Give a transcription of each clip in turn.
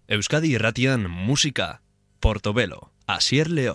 Euskadi Irratian musika, Portobelo, Asier Leoz.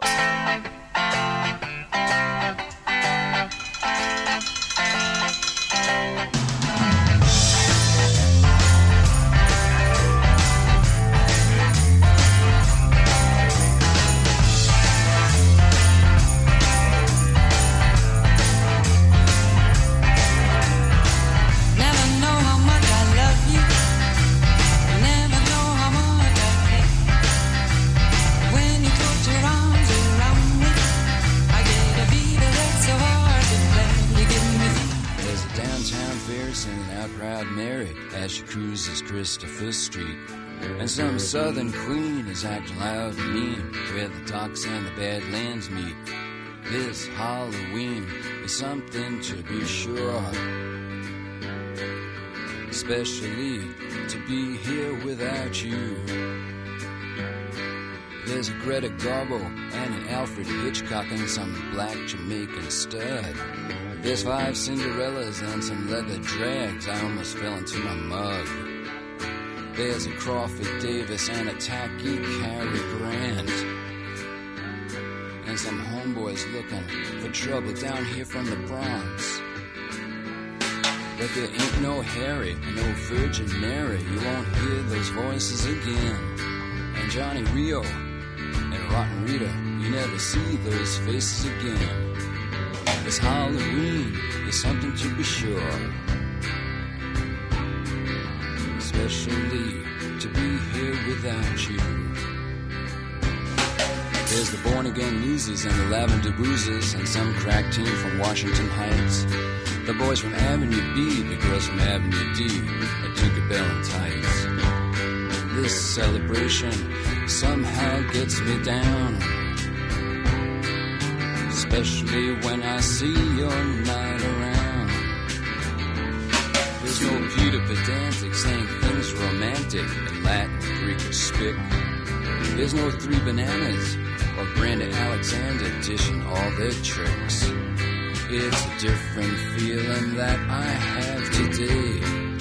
Christopher Street, and some southern queen is acting loud and mean where the docks and the badlands meet. This Halloween is something to be sure, especially to be here without you. There's a Greta Garbo and an Alfred Hitchcock and some black Jamaican stud. There's 5 Cinderellas and some leather drags. I almost fell into my mug. There's a Crawford Davis and a tacky Cary Grant, and some homeboys looking for trouble down here from the Bronx. But there ain't no Harry, no Virgin Mary. You won't hear those voices again. And Johnny Rio and Rotten Rita, you never see those faces again. This Halloween is something to be sure, especially to be here without you. There's the born-again losers and the lavender boozers and some crack team from Washington Heights. The boys from Avenue B, the girls from Avenue D, and Tinker Bell and Tights. This celebration somehow gets me down, especially when I see you're not around. There's no Peter Pedantic saying things romantic in Latin, Greek, or Spic. There's no 3 Bananas or Brandon Alexander dishing all their tricks. It's a different feeling that I have today,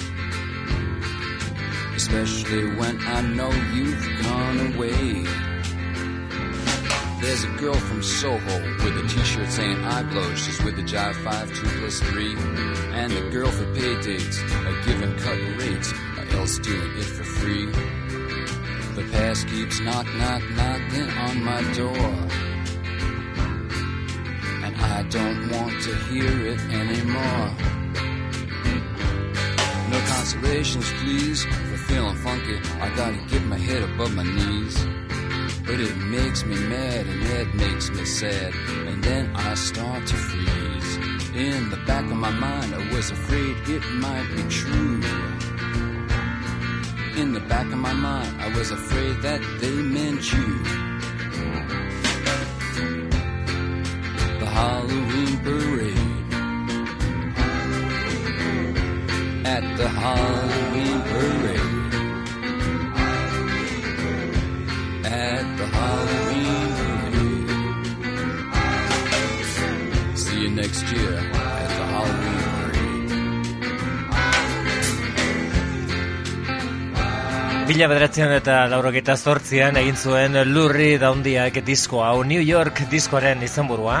especially when I know you've gone away. There's a girl from Soho with a t-shirt saying I blow. She's with the Jive 5, 2 plus 3. And the girl for pay dates are giving cut rates, or else doing it for free. The past keeps knocking on my door, and I don't want to hear it anymore. No consolations, please, for feeling funky. I gotta get my head above my knees. But it makes me mad and it makes me sad, and then I start to freeze. In the back of my mind I was afraid it might be true. In the back of my mind I was afraid that they meant you. The Halloween parade, at the Halloween parade, at the Halloween parade. See you next year at the Halloween parade. Mila 1988an egin zuen Lou Reed handiak disko hau, New York diskoaren izenburua.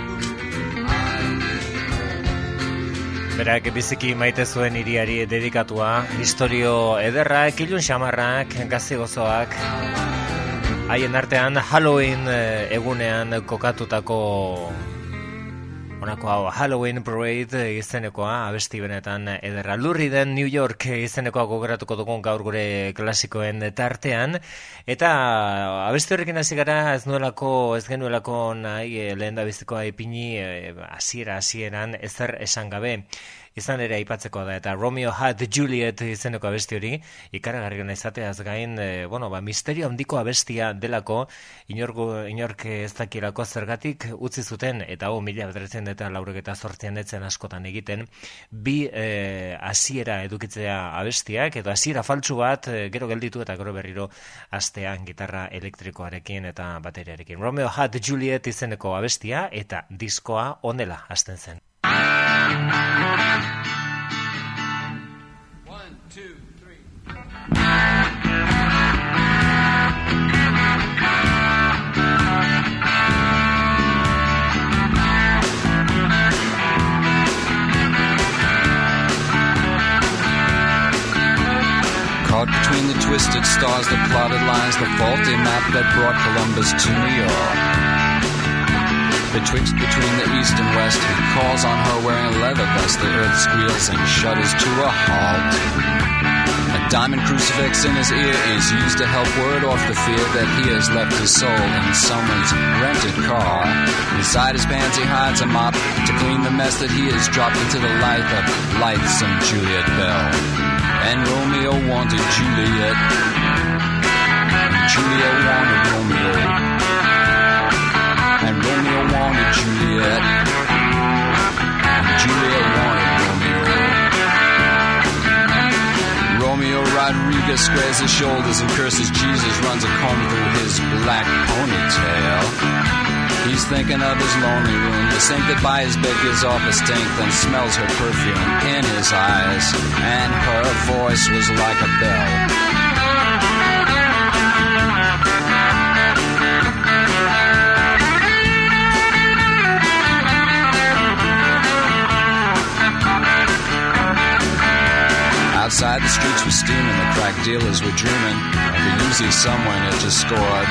Berak biziki maite zuen hiriari dedikatua, istorio ederrak, ilun xamarrak, gazi gozoak. Haien artean Halloween egunean kokatutako honako hau, Halloween Parade izenekoa, abesti benetan ederra. Lou Reeden New York izenekoa gogoratuko dugun gaur gure klasikoen tartean, eta abesti horrekin hasi gara ez genuelako nahi lehendabizikoa ipini hasieran ezer esan gabe. Izan ere aipatzeko da, eta Romeo had Juliet izeneko abesti hori ikaragarriena izateaz gain, misterio handiko abestia delako, inork ez dakilako zergatik utzi zuten, eta 1988an etzen askotan egiten, bi hasiera edukitzea abestiak, edo hasiera faltsu bat, gero gelditu eta gero berriro hastean gitarra elektrikoarekin eta bateriarekin. Romeo had Juliet izeneko abestia, eta diskoa honela hasten zen. 1, 2, 3. stars, the plotted lines, the faulty map that brought Columbus to New York. Betwixt between the east and west, he calls on her wearing a leather vest. The earth squeals and shudders to a halt. A diamond crucifix in his ear is used to help ward off the fear that he has left his soul in someone's rented car. Inside his pants he hides a mop to clean the mess that he has dropped into the life of lightsome Juliet Bell. And Romeo wanted Juliet, and Juliet wanted Romeo, and Romeo wanted Juliet, and Juliet wanted Romeo. Romeo Rodriguez squares his shoulders and curses Jesus, runs a comb through his black ponytail. He's thinking of his lonely room, the sink that by his bed gives off a stink, then smells her perfume in his eyes, and her voice was like a bell. Outside the streets were steaming, the crack dealers were dreaming of the Uzi someone had just scored.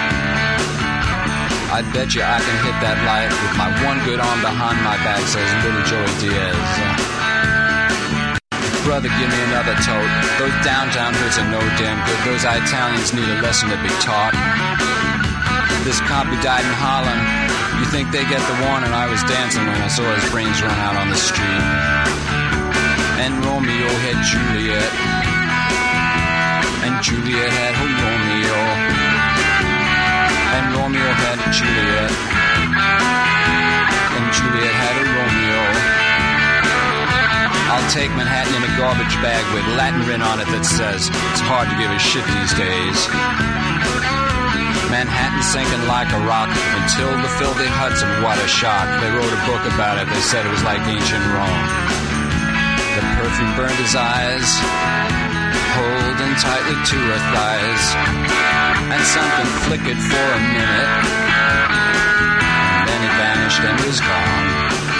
I bet you I can hit that light with my one good arm behind my back, says little Joey Diaz. Brother, give me another tote. Those downtown hoods are no damn good. Those Italians need a lesson to be taught. This cop who died in Holland, you think they get the warning? I was dancing when I saw his brains run out on the street. And Romeo had Juliet, and Juliet had her Romeo, and Romeo had Juliet, and Juliet had a Romeo. I'll take Manhattan in a garbage bag with Latin written on it that says it's hard to give a shit these days. Manhattan sinking like a rock until the filthy Hudson, what a shock. They wrote a book about it, they said it was like ancient Rome. The perfume burned his eyes, holding tightly to her thighs, and something flickered for a minute, and then it vanished and was gone.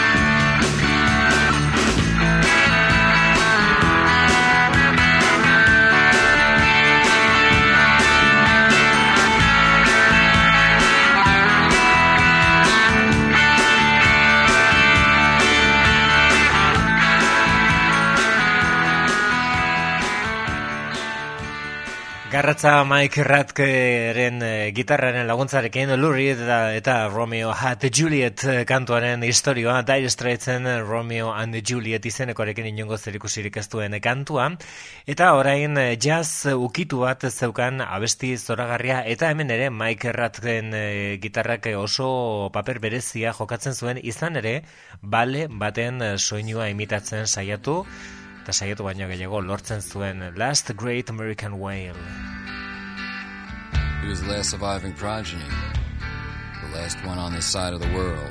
Garratza Mike Ratkeren gitarraren laguntzarekin Lou Reed eta Romeo had Juliet kantuaren historioa, Dire Straitsen Romeo and Juliet izenekoarekin inongo zerikusirik ez duen kantua, eta orain jazz ukitu bat zeukan abesti zoragarria, eta hemen ere Mike Ratkeren gitarrak oso paper berezia jokatzen zuen, izan ere bale baten soinua imitatzen saiatu, eta saiatu baino gehiago lortzen zuen Last Great American Whale. He was the last surviving progeny, the last one on this side of the world.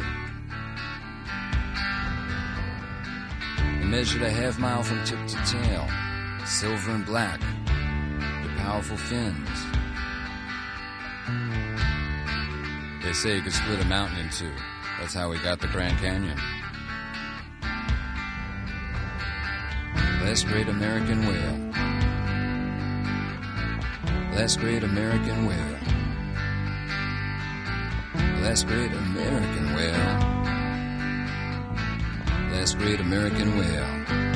He measured a half mile from tip to tail, silver and black, with powerful fins. They say he could split a mountain in two. That's how he got the Grand Canyon. Last great American whale. Last great American whale. Last great American whale. Last great American whale.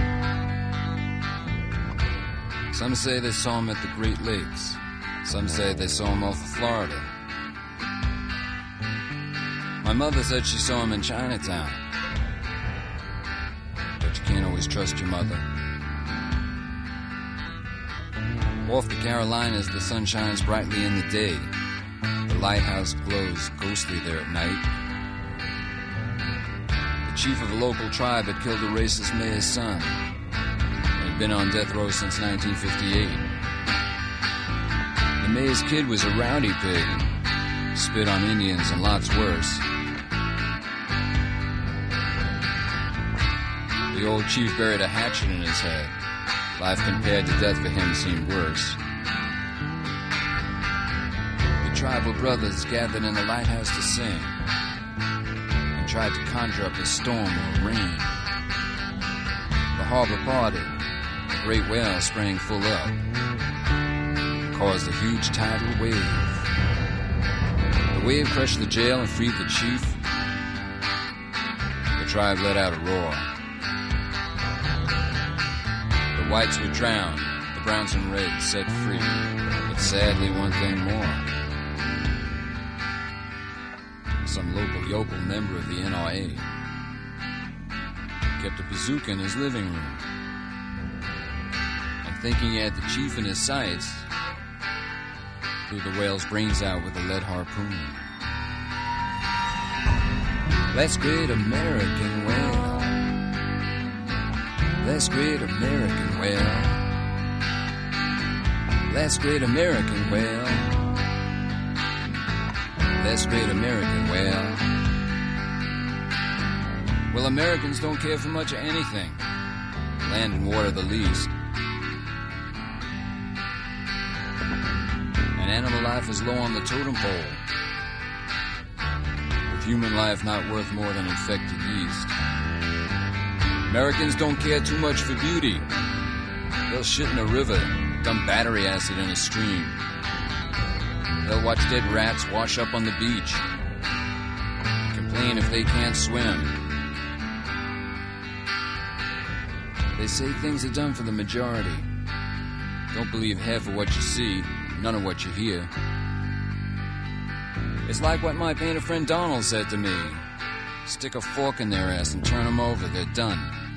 Some say they saw him at the Great Lakes. Some say they saw him off of Florida. My mother said she saw him in Chinatown. But you can't always trust your mother. Off the Carolinas, the sun shines brightly in the day. The lighthouse glows ghostly there at night. The chief of a local tribe had killed a racist mayor's son and had been on death row since 1958. The mayor's kid was a rowdy pig, spit on Indians and lots worse. The old chief buried a hatchet in his head. Life compared to death for him seemed worse. The tribal brothers gathered in the lighthouse to sing and tried to conjure up a storm or rain. The harbor parted, a great whale sprang full up. The caused a huge tidal wave. The wave crushed the jail and freed the chief. The tribe let out a roar. The whites were drowned, the browns and reds set free. But sadly, one thing more. Some local yokel member of the NRA kept a bazooka in his living room. And thinking he had the chief in his sights, blew the whale's brains out with a lead harpoon. That's great American whale. That's great American whale. That's great American whale. That's great American whale. Well, Americans don't care for much of anything. Land and water the least. And animal life is low on the totem pole, with human life not worth more than infected yeast. Americans don't care too much for beauty. They'll shit in a river, dump battery acid in a stream. They'll watch dead rats wash up on the beach, complain if they can't swim. They say things are done for the majority. Don't believe half of what you see, none of what you hear. It's like what my painter friend Donald said to me. Stick a fork in their ass and turn them over, they're done.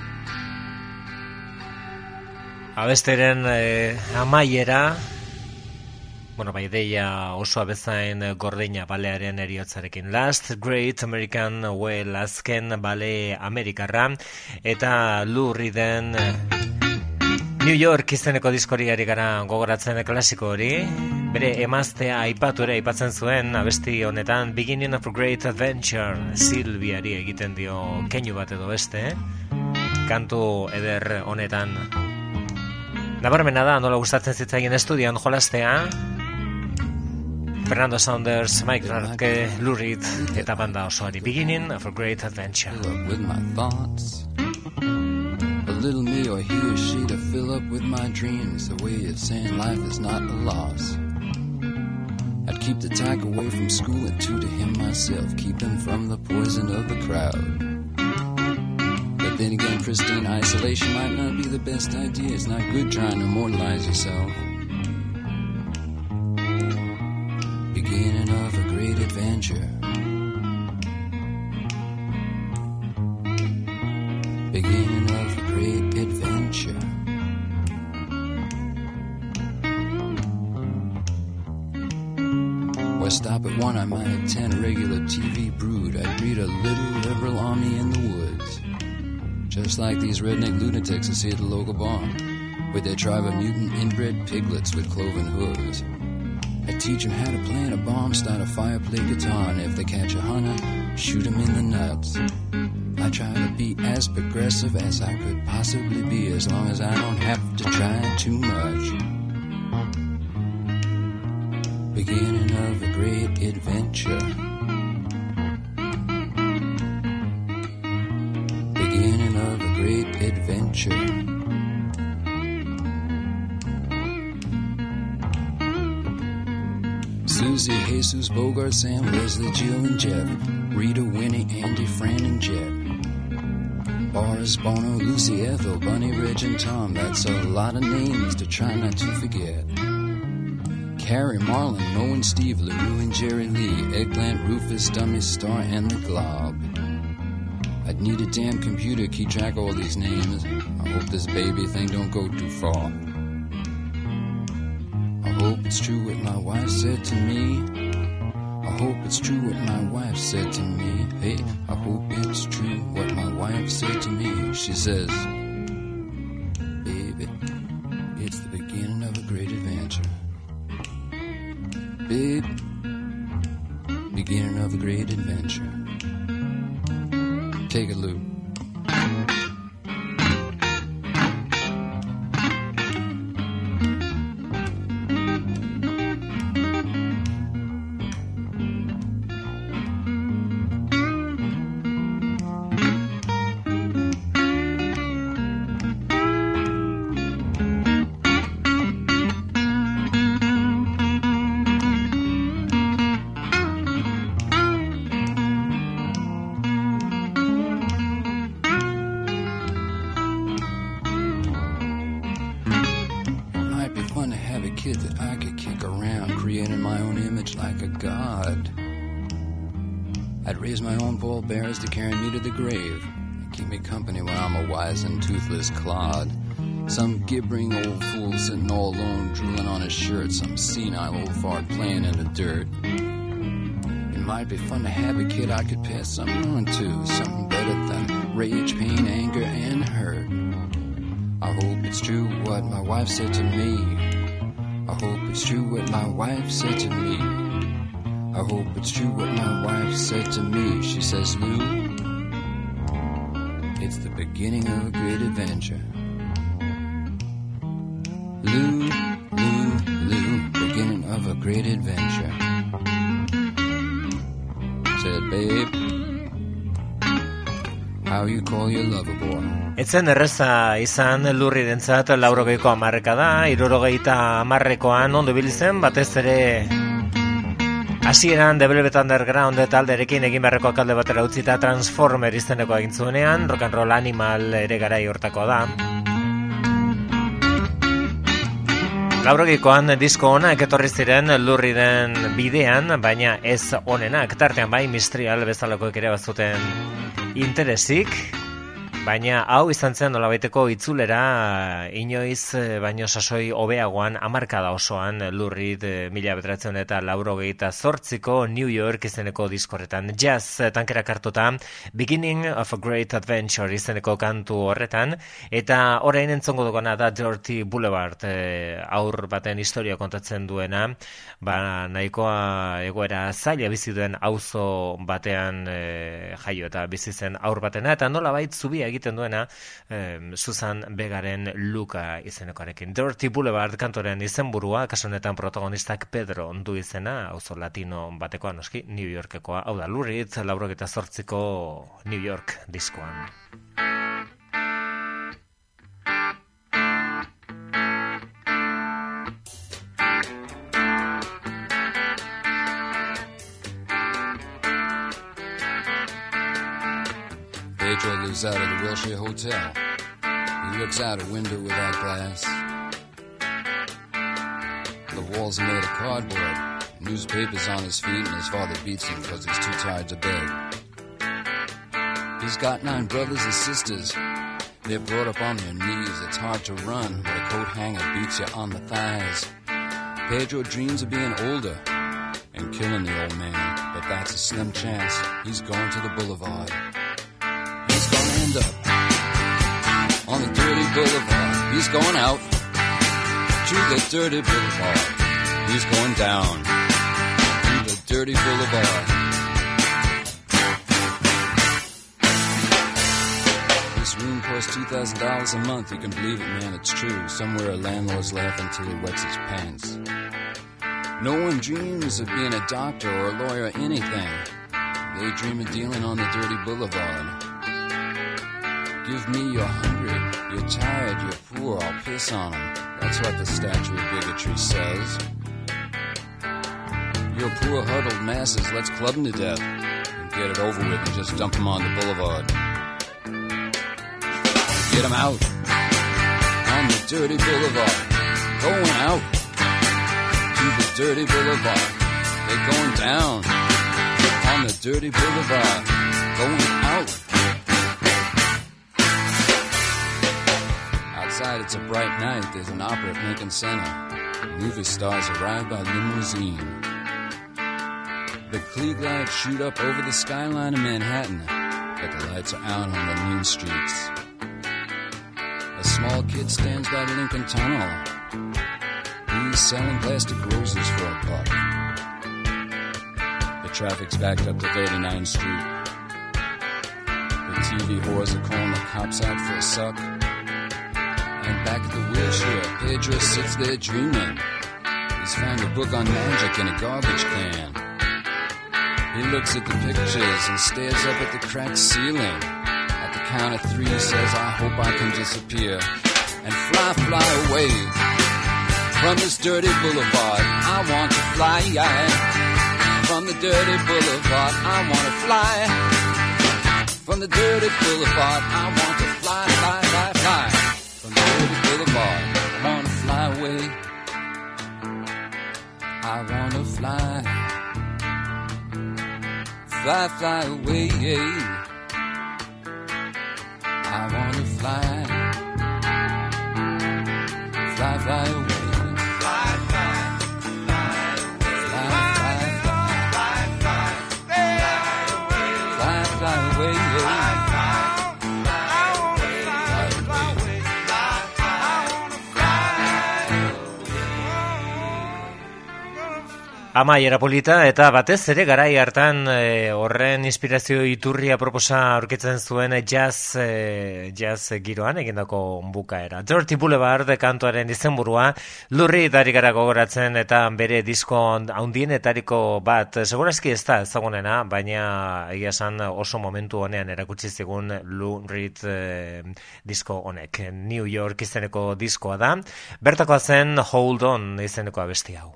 Abesteren amaiera, bai, ideia oso abezain gordina balearen eriotzarekin. Last Great American Whale, azken bale amerikarra, eta Lou Reeden New York izeneko diskoriari gara gogoratzen klasiko hori. Bere emaztea aipatzen zuen abesti honetan, Beginning of a Great Adventure, Silviari egiten dio keinu bat edo beste, kantu eder honetan. Nabarmena da, nola gustatzen zitzaien estudian jolastea, Fernando Saunders, Mike Rarke, Lou Reed eta banda osoari, Beginning of a Great Adventure. With my thoughts, a little me or he or she to fill up with my dreams, a way of saying life is not a loss. I'd keep the tyke away from school and two to him myself, keep him from the poison of the crowd. But then again, pristine isolation might not be the best idea. It's not good trying to immortalize yourself. Beginning of a great adventure. Beginning of a great adventure. Or stop at one, I might attend a regular TV brood. I'd breed a little liberal army in the woods, just like these redneck lunatics I see at the local bar, with their tribe of mutant inbred piglets with cloven hooves. I teach them how to plant a bomb, start a fire, play guitar, and if they catch a hunter, shoot him in the nuts. I try to be as progressive as I could possibly be, as long as I don't have to try too much. Beginning of a great adventure. Beginning of a great adventure. Susie, Jesus, Bogart, Sam, Leslie, Jill, and Jeff, Rita, Winnie, Andy, Fran, and Jet, Boris, Bono, Lucy, Ethel, Bunny, Reg, and Tom. That's a lot of names to try not to forget. Carrie, Marlon, Mo, and Steve, LaRue, and Jerry Lee, Eggplant, Rufus, Dummy, Star, and the Glob. I'd need a damn computer to keep track of all these names. I hope this baby thing don't go too far. I hope it's true what my wife said to me. I hope it's true what my wife said to me. Hey, I hope it's true what my wife said to me. She says, baby, it's the beginning of a great adventure. Babe, beginning of a great adventure. Take a loop. created my own image like a god. I'd raise my own pallbearers to carry me to the grave and keep me company when I'm a wise and toothless clod. Some gibbering old fool sitting all alone, drooling on his shirt. Some senile old fart playing in the dirt. It might be fun to have a kid I could pass something on to, something better than rage, pain, anger, and hurt. I hope it's true what my wife said to me. I hope it's true what my wife said to me. I hope it's true what my wife said to me. She says, Lou, it's the beginning of a great adventure. Lou, Lou, Lou, beginning of a great adventure. Said, babe, how you call your lover boy? Etzen erreza izan lurri dentzat 80ko hamarrekada, 70koan ondo biltzen, batez ere hasieran The Velvet Underground talderekin egin beharreko alde batera utzita Transformer izeneko egin zuenean, Rock and Roll Animal ere garai hortako da. 80koan disko onak etorri ziren lurri den bidean, baina ez onenak, tartean bai Mistral bezalakoek ere bazuten interesik, baina hau izan zen nolabaiteko itzulera inoiz baino sasoi hobeagoan hamarkada osoan lurrit 1988ko New York izeneko diskorretan. Jazz tankerak hartuta Beginning of a Great Adventure izeneko kantu horretan, eta orain entzongo duguna da Dirty Boulevard, aur baten historia kontatzen duena, nahikoa egoera zaila bizi duen auzo batean jaio eta bizi zen aur batena, eta nolabait zubia egiten duena Susan Begaren Luka izenekoarekin. Dirty Boulevard kantoren izenburua, kasu honetan protagonistak Pedro du izena, auzo latino batekoa noski, New Yorkekoa, hau da Lurrit 88ko New York diskoan. Pedro lives out of the Wilshire Hotel. He looks out a window without glass. The walls are made of cardboard. Newspapers on his feet, and his father beats him because he's too tired to beg. He's got 9 brothers and sisters. They're brought up on their knees. It's hard to run, but a coat hanger beats you on the thighs. Pedro dreams of being older and killing the old man, but that's a slim chance. He's going to the boulevard. He's gonna end up on the dirty boulevard. He's going out to the dirty boulevard. He's going down to the dirty boulevard. This room costs $2,000 a month. You can believe it, man, it's true. Somewhere a landlord's laughing till he wets his pants. No one dreams of being a doctor or a lawyer or anything. They dream of dealing on the dirty boulevard. Give me you're hungry, you're tired, you're poor, I'll piss on them. That's what the statue of bigotry says. You're poor huddled masses, let's club them to death and get it over with and just dump them on the boulevard. Get them out on the dirty boulevard. Going out to the dirty boulevard. They're going down on the dirty boulevard. Going out. Outside it's a bright night. There's an opera at Lincoln Center. Movie stars arrive by limousine. The Klieg lights shoot up over the skyline of Manhattan, but the lights are out on the mean streets. A small kid stands by the Lincoln Tunnel. He's selling plastic roses for a buck. The traffic's backed up to 39th Street. The TV whores are calling the cops out for a suck. And back at the Wilshire, Pedro sits there dreaming. He's found a book on magic in a garbage can. He looks at the pictures and stares up at the cracked ceiling. At the count of 3 he says, I hope I can disappear and fly away from this dirty boulevard. I want to fly from the dirty boulevard. I want to fly from the dirty boulevard. I want to fly from the dirty boulevard. I want to fly away. I I wanna fly, fly, fly away. I wanna fly, fly, fly away. Amaiera polita, eta batez ere garai hartan horren inspirazio iturria proposa aurkitzen zuen jazz giroan egindako bukaera. Dirty Boulevard kantuaren izenburua Lou Reed ari gara gogoratzen eta bere disko handienetariko bat, segurazki ez da ezagunena, baina egia esan oso momentu honean erakutsi zigun Lou Reed disko honek. New York izeneko diskoa da, bertakoa zen Hold On izeneko abesti hau.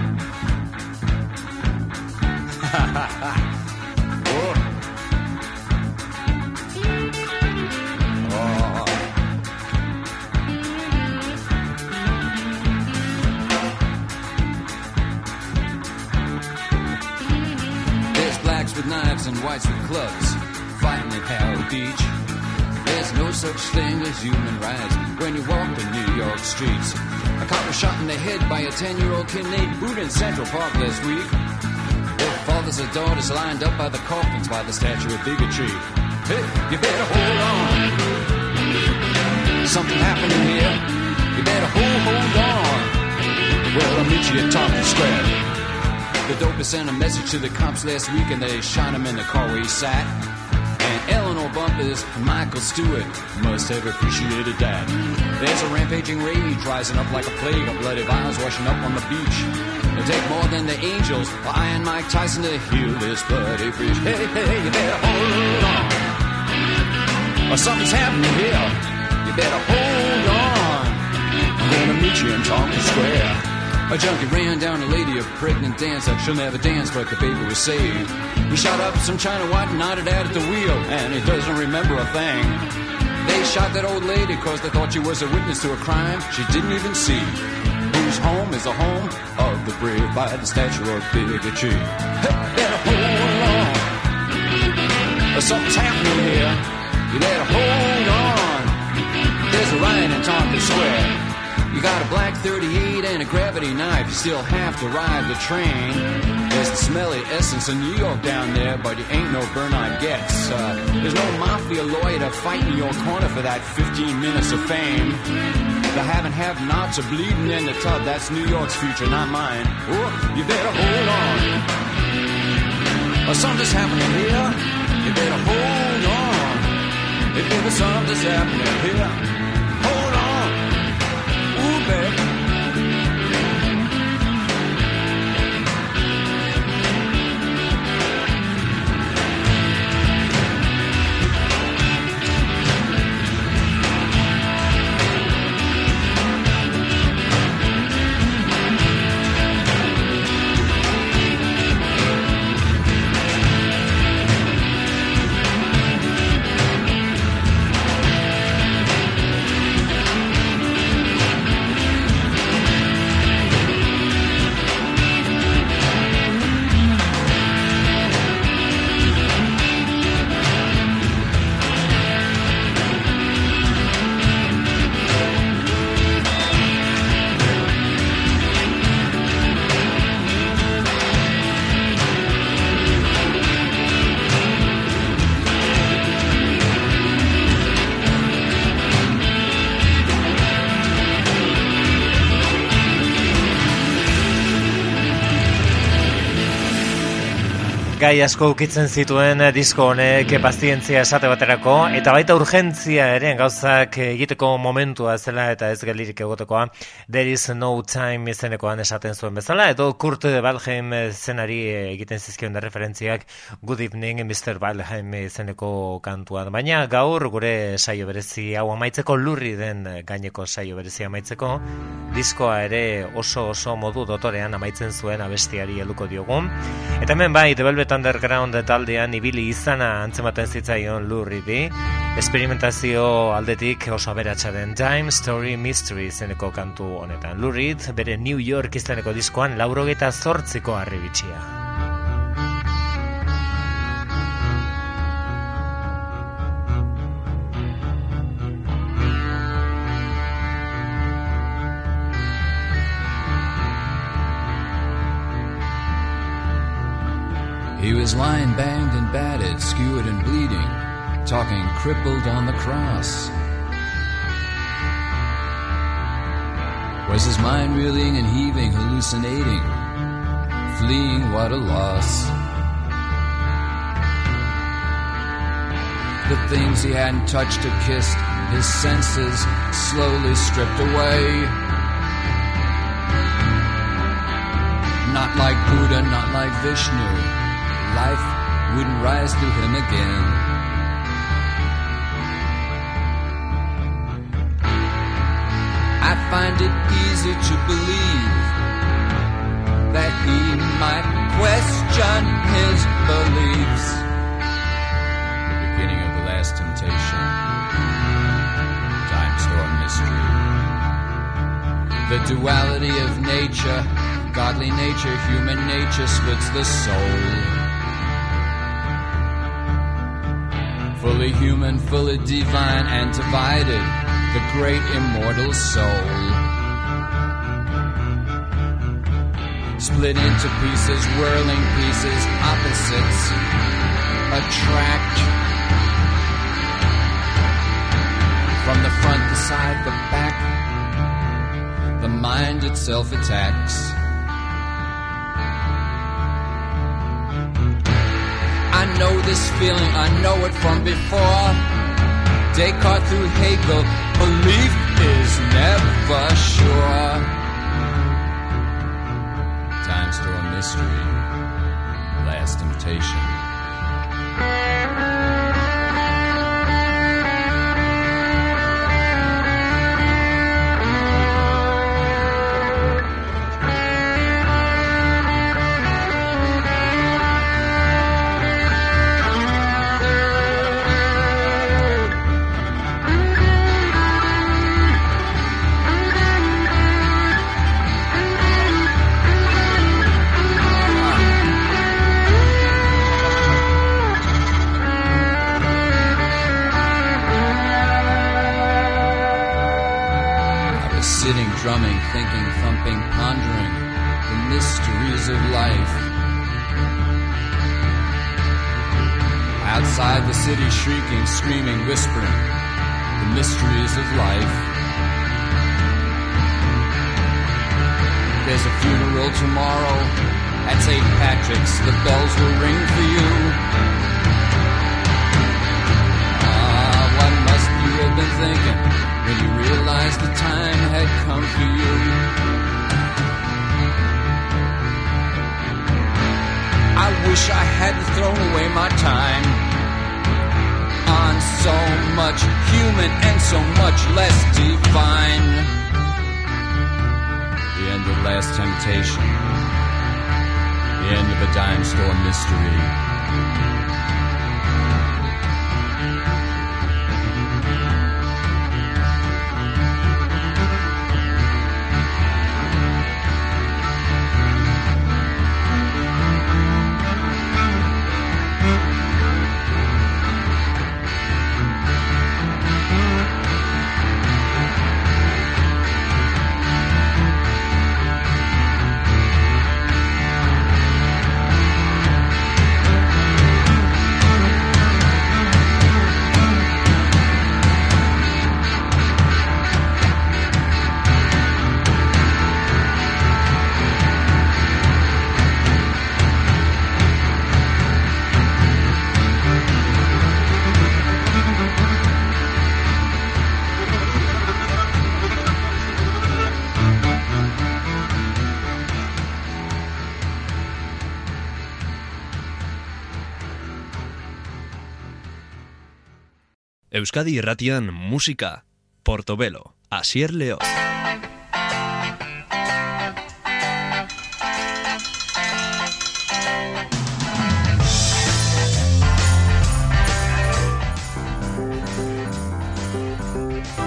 There's blacks with knives and whites with clubs fighting at Harrow Beach. There's no such thing as human rights when you walk the New York streets. A cop was shot in the head by a 10-year-old kid named Boot in Central Park last week. Their fathers and daughters lined up by the coffins by the statue of bigotry. Hey, you better hold on. Something happening here. You better hold on. Well, I'll meet you at Tompkins Square. The dopest sent a message to the cops last week and they shot him in the car where he sat. And Eleanor Bumpers and Michael Stewart must have appreciated that. There's a rampaging rage rising up like a plague of bloody vials washing up on the beach. It'll take more than the Angels or Iron Mike Tyson to heal this bloody breach. Hey, hey, you better hold on. Or something's happening here. You better hold on. I'm gonna meet you in Tompkins Square. A junkie ran down a lady, a pregnant dancer. She'll never dance, but the baby was saved. He shot up some China White and nodded out at the wheel, and he doesn't remember a thing. They shot that old lady cause they thought she was a witness to a crime she didn't even see. Whose home is the home of the brave by the statue of bigotry. Hey, better hold on. Something's happening here. You better hold on. There's a riot in Tompkins Square. You got a black 38 and a gravity knife. You still have to ride the train. There's the smelly essence of New York down there, but you ain't no Bernard Getz. There's no mafia lawyer to fight in your corner for that 15 minutes of fame. The have-nots are bleeding in the tub. That's New York's future, not mine. Oh, you better hold on. Something's happening here. You better hold on. If ever something's happening here, hold on. Ooh, baby. Gai asko ukitzen zituen disko honek pazientzia esate baterako, eta baita urgentzia ere gauzak egiteko momentua zela eta ez geldirik egotekoa. There is no time izenekoan esaten zuen bezala, edo Kurt Waldheim zenari egiten zizkion da referentziak Good Evening Mr. Waldheim izeneko kantua. Baina gaur gure saio berezi hau amaitzeko, lurri den gaineko saio berezi amaitzeko, diskoa ere oso modu dotorean amaitzen zuen abestiari helduko diogun. Eta hemen bai, The Velvet Velvet Underground taldean ibili izana antzematen zitzaion Lou Reed. Esperimentazio aldetik oso aberatsa den Dime Story Mystery izeneko kantu honetan. Lou Reed bere New York izeneko diskoan 88ko harribitxia. He was lying banged and battered, skewered and bleeding, talking crippled on the cross. Was his mind reeling and heaving, hallucinating, fleeing, what a loss. The things he hadn't touched or kissed, his senses slowly stripped away. Not like Buddha, not like Vishnu. Life wouldn't rise to him again. I find it easy to believe that he might question his beliefs. The beginning of the last temptation. Time Store Mystery. The duality of nature, godly nature, human nature splits the soul. Fully human, fully divine and divided, the great immortal soul. Split into pieces, whirling pieces, opposites attract. From the front, the side, the back, the mind itself attacks. I know this feeling, I know it from before. Descartes through Hegel, belief is never sure. Time Store Mystery, Last Temptation. Drumming, thinking, thumping, pondering the mysteries of life. Outside the city, shrieking, screaming, whispering the mysteries of life. There's a funeral tomorrow at St. Patrick's. The bells will ring for you. What must you have been thinking when you realized the time had come for you? I wish I hadn't thrown away my time on so much human and so much less divine. The end of Last Temptation. The end of a Dime Store Mystery. Euskadi Irratian musika, Portobelo, Asier Leoz.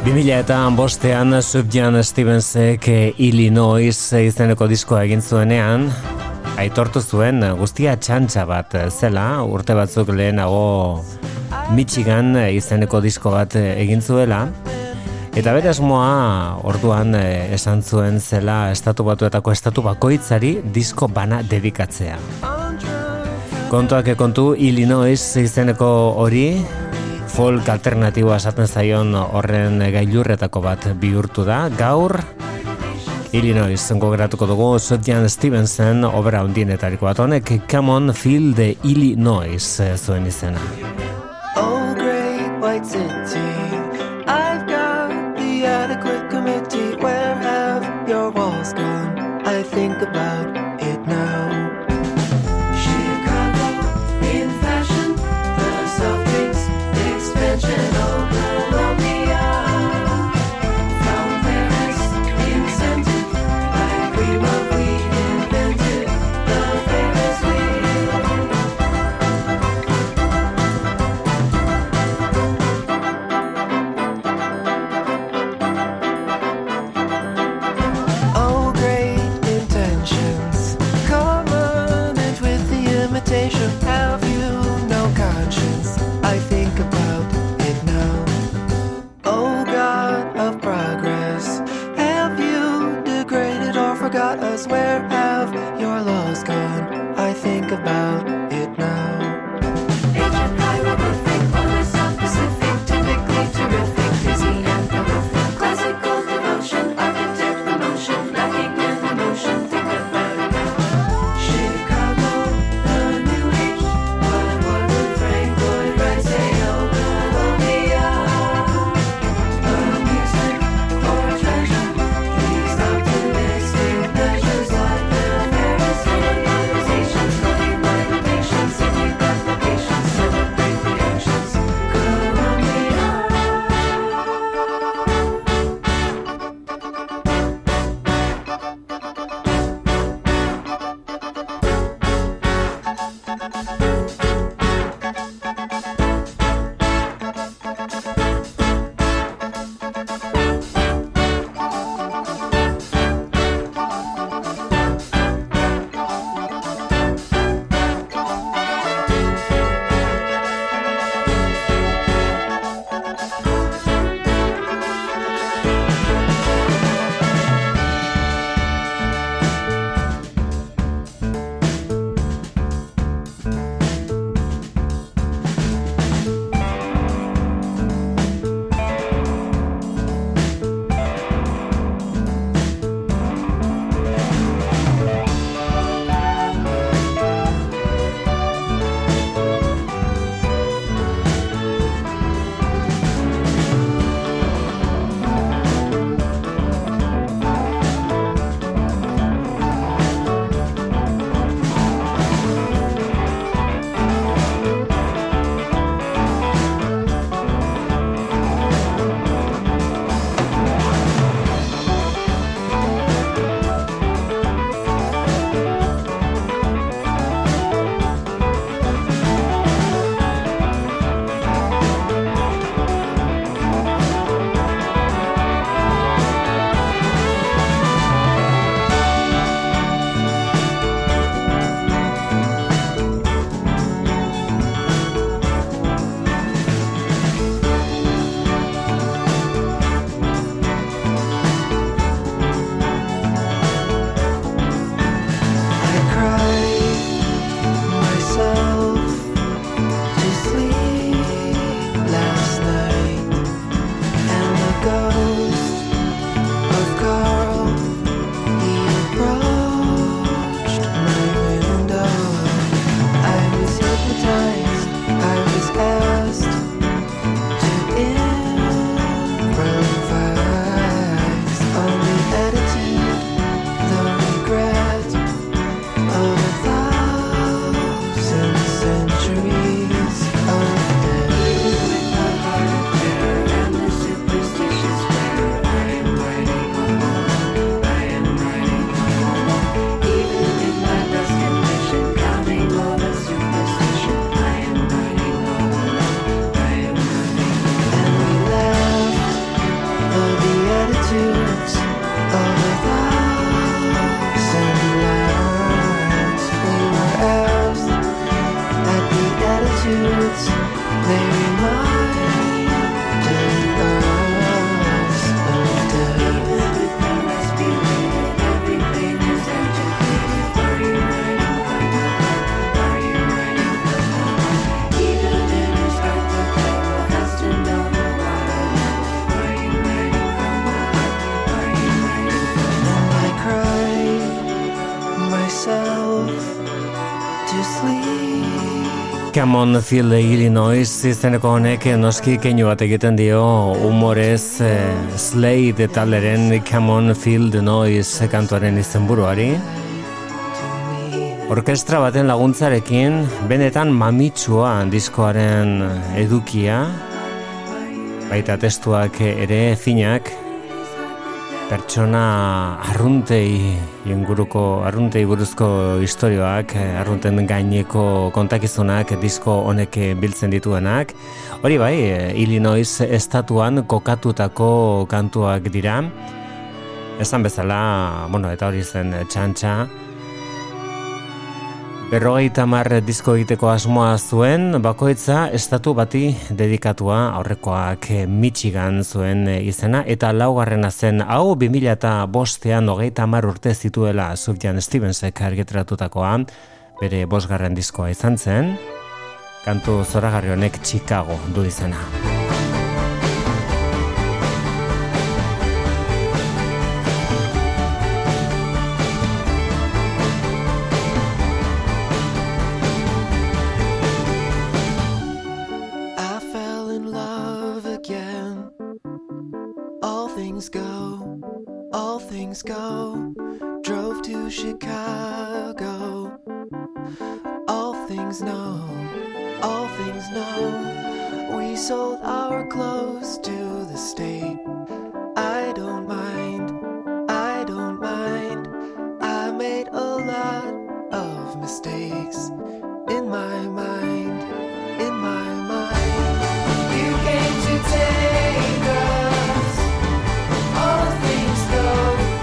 2005an Sufjan Stevensek Illinois izeneko diskoa egin zuenean, aitortu zuen guztia txantxa bat zela, urte batzuk lehenago Michigan izeneko disko bat egin zuela, eta bere asmoa orduan esan zuen zela estatu batuetako estatu bakoitzari disko bana dedikatzea. Kontuak kontu, Illinois izeneko hori, folk alternatiboa esaten zaion horren gailurretako bat bihurtu da. Gaur, Illinois gogoratuko dugu Sufjan Stevensen obra handienetariko bat honek, Come on, Feel the Illinois zuen izena. Oh, great white city, I've got the adequate committee. Where have your walls gone? I think about it now. Have you no conscience? I think about it now. Oh God of progress, have you degraded or forgot us? Where have your laws gone? I think about it now. Ancient hieroglyphic, older South Pacific, typically terrific, busy and prolific. Classical devotion, architect emotion, lacking in emotion. Think about it now. Chicago, the new age. What would Frank Lloyd Wright say? Oh, Columbia, amusement or treasure. These optimistic measures like the Paris Organization's 99 to sleep. Camonfield, Illinois izeneko honek noski keinu bat egiten dio humorez Slade talderen Camonfield Noise kantuaren izenburuari. Orkestra baten laguntzarekin benetan mamitsua diskoaren edukia, baita testuak ere finak, pertsona arruntei buruzko istorioak, arrunten gaineko kontakizunak disko honek biltzen dituenak. Hori bai, Illinois estatuan kokatutako kantuak dira. Esan bezala, eta hori zen txantxa. 50 disko egiteko asmoa zuen, bakoitza estatu bati dedikatua, aurrekoak Michigan zuen izena, eta laugarrena zen hau 2005an 30 urte zituela Sufjan Stevensek argitaratutakoa, bere 5. diskoa izan zen, kantu zoragarri honek Chicago du izena. Go, drove to Chicago. All things know, we sold our clothes to the state. I don't mind, I made a lot of mistakes in my mind. You came to take us, all things go.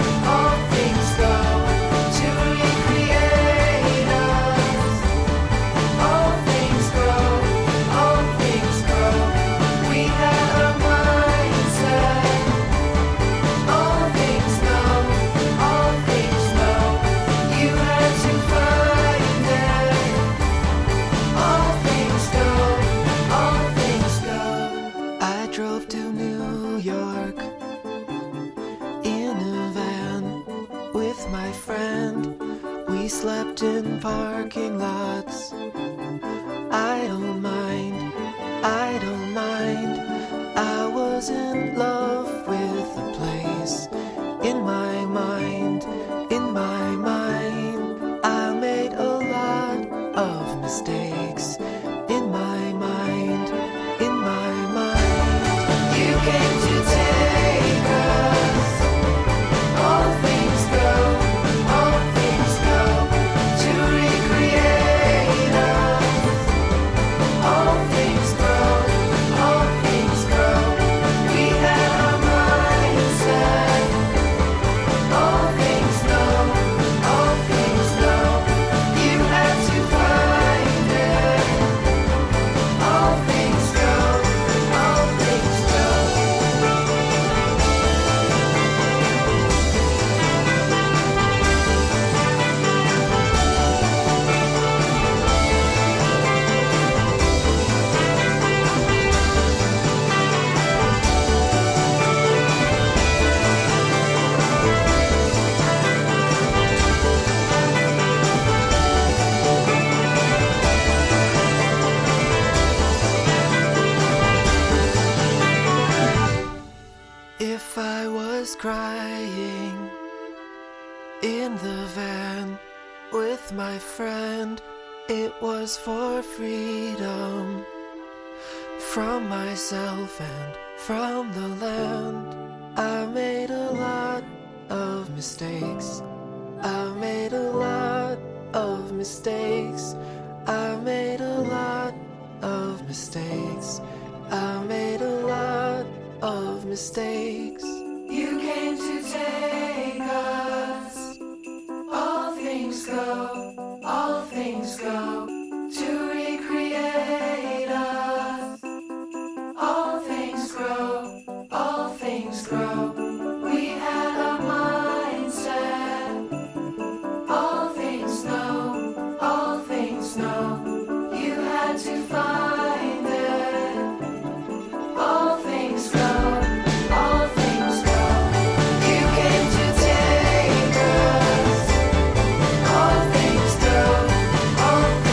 Slept in parking lots. I don't mind, I was in love with the place. In my mind, I made a lot of mistakes. In my mind, you came to take us. All things go, all things go. To recreate us. All things grow, all things grow. We had our mindset. All things know, all things know. You had to find it. All things go, all things go. If I was crying in the van with my friend, it was for freedom from myself and from the land. I made a lot of mistakes. I made a lot of mistakes. I made a lot of mistakes. I made a lot of mistakes. You came to take us. All things go, all things go. To recreate us. All things grow, all things grow. We had our mindset. All things know, all things know. You had to find it. All things go, all things go. You came to take us. All things go, all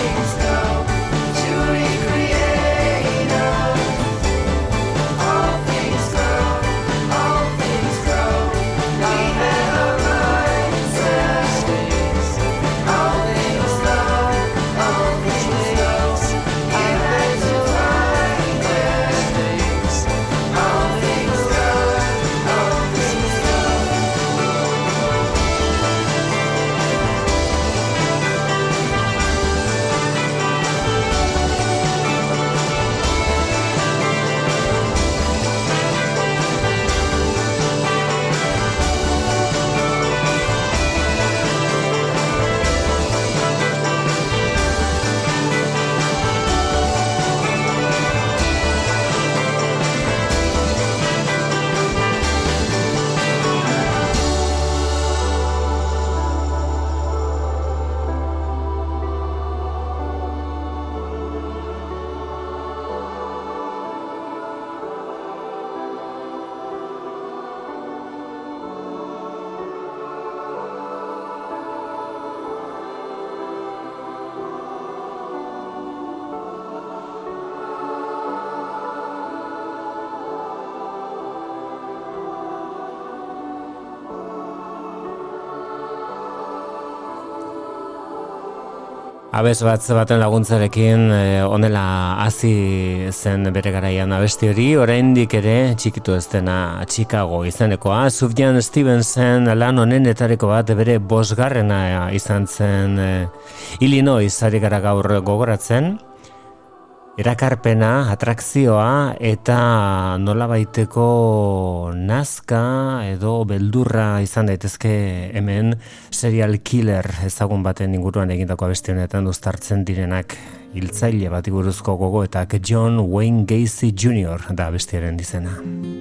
Abes baten laguntzarekin honela hasi zen bere garaian abesti hori, oraindik ere txikitu ez dena Chicago izenekoa. Sufjan Stevenson lan honenetariko bat bere 5. izan zen Illinois ari gara gaur gogoratzen. Erakarpena, atrakzioa eta nolabaiteko nazka edo beldurra izan daitezke hemen serial killer ezagun baten inguruan egindako abesti honetan uztartzen direnak hiltzaile bati buruzko gogoetak. John Wayne Gacy Jr. da abestiaren izena.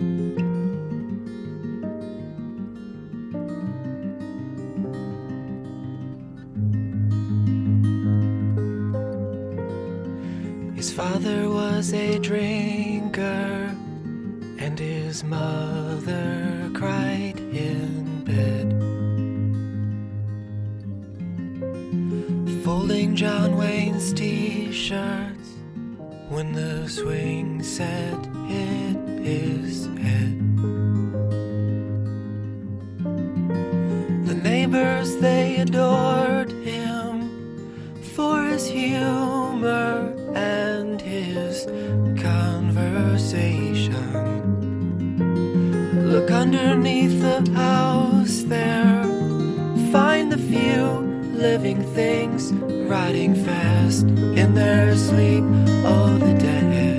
His father was a drinker, and his mother cried in bed. Folding John Wayne's t-shirts when the swing set hit his head. The neighbors, they adored him for his humor and his conversation. Look underneath the house there, find the few living things riding fast in their sleep. Oh, the dead.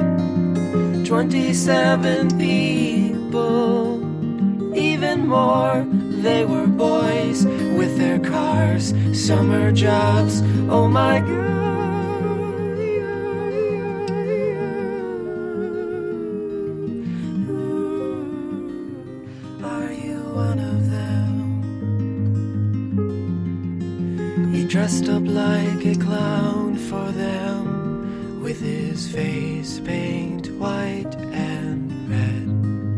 27 people, even more. They were boys with their cars, summer jobs. Oh my God. Dressed up like a clown for them, with his face paint white and red.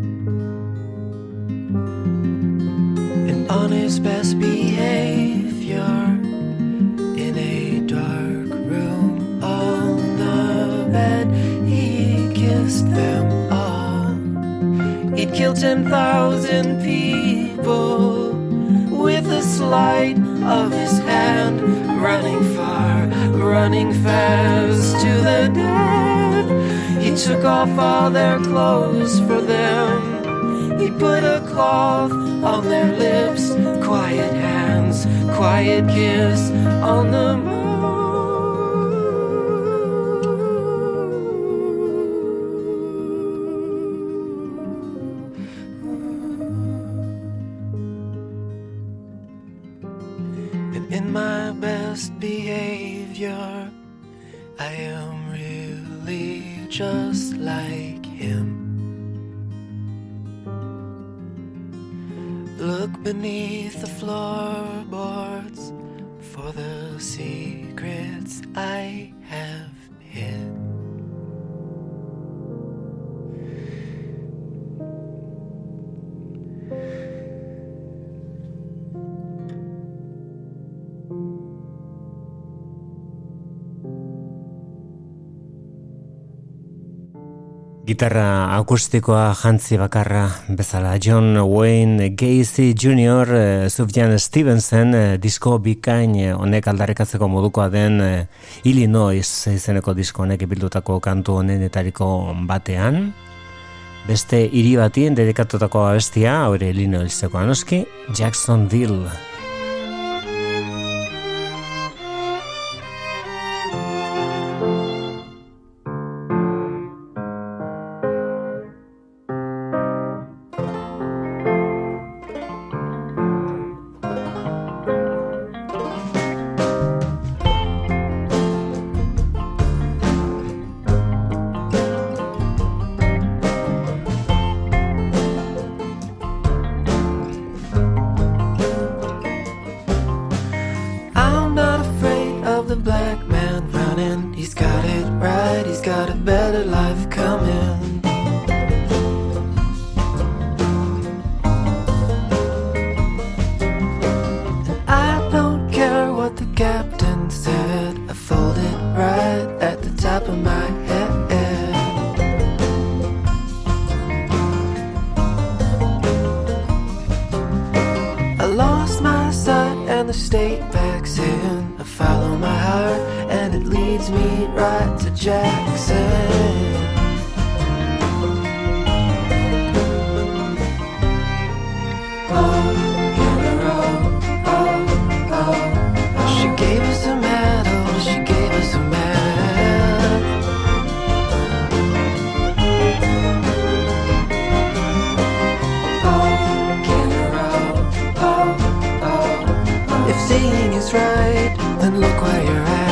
And on his best behavior, in a dark room on the bed, he kissed them all. He'd killed 10,000 people with a sleight of his hand, running far, running fast to the dead. He took off all their clothes for them. He put a cloth on their lips, quiet hands, quiet kiss on the moon. In my best behavior, I am really just like him. Look beneath the floorboards for the secrets I have hid. Gitarra akustikoa jantzi bakarra bezala John Wayne Gacy Jr. Sufjan Stevenson disko bikain honek aldarrikatzeko modukoa den Illinois izeneko disko honek bildutako kantu honenetariko batean. Beste hiri batien dedikatutako abestia, hori Illinoiseko anoski, Jacksonville. and the state backs in. I follow my heart leads me right to Jackson. She gave us a medal, she gave us a man. If seeing is right, then look where you're at.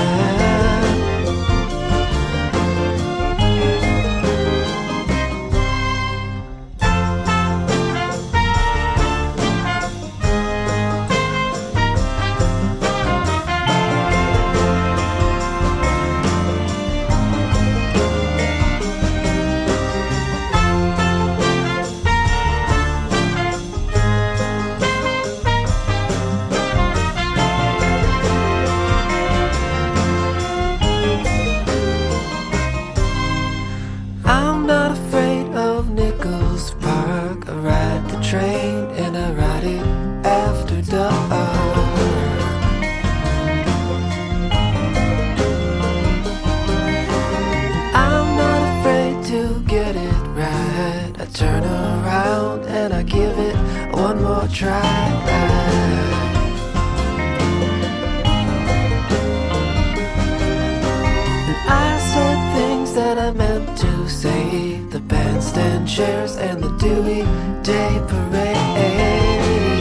Chairs and the Dewey Day Parade.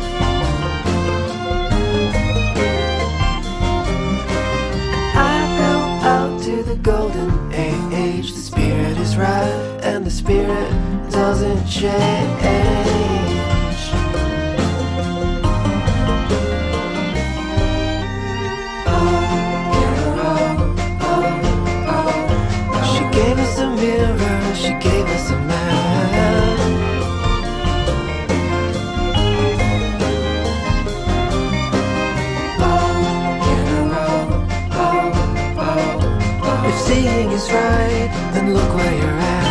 I go out to the golden age. The spirit is right and the spirit doesn't change. She gave us a mirror, she gave us a man. If seeing is right, then look where you're at.